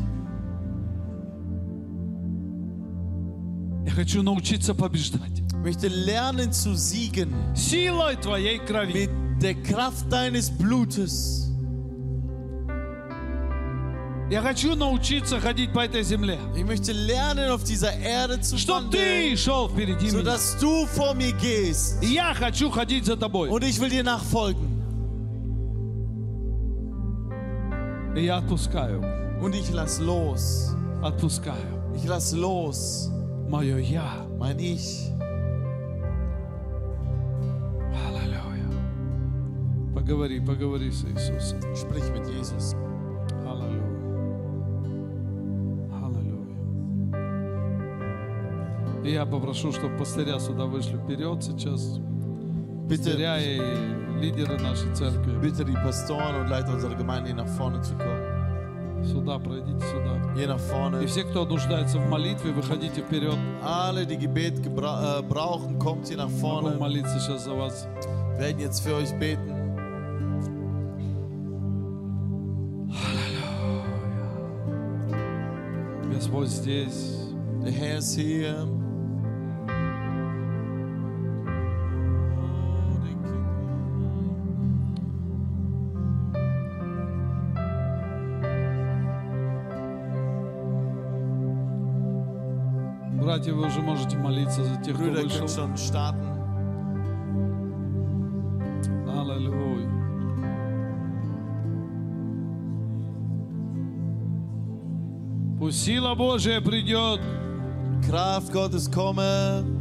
Я хочу научиться побеждать. Ich möchte lernen zu siegen Силой Твоей крови. mit der Kraft deines Blutes. Я хочу научиться ходить по этой земле. Ich möchte lernen, auf dieser Erde zu Чтоб wandeln, Ты шел впереди меня. sodass du vor mir gehst. И я хочу ходить за Тобой. Und ich will dir nachfolgen. И я отпускаю, Und ich lass los. отпускаю Ich lass los. мое я. Mein Ich. Аллилуйя. Поговори с Иисусом. Sprich mit Jesus. Аллилуйя. Аллилуйя. И я попрошу, чтобы пастыря сюда вышли вперед сейчас. Bitte, Пастыря и лидеры нашей церкви. bitte die Pastoren und Leiter unserer Gemeinde hier nach vorne zu kommen. Сюда, пройдите сюда. Hier nach vorne. И все, кто нуждается в молитве, выходите вперед. Alle, die Gebet brauchen, kommt hier nach Могу vorne. молиться сейчас за вас. Wir werden jetzt für euch beten. Господь здесь. Der Herr ist hier. Братья, вы уже можете молиться за тех, кто Brüder, ihr вышел. könnt schon starten. Аллилуйя. Пусть сила Божия придет. Kraft Gottes komme.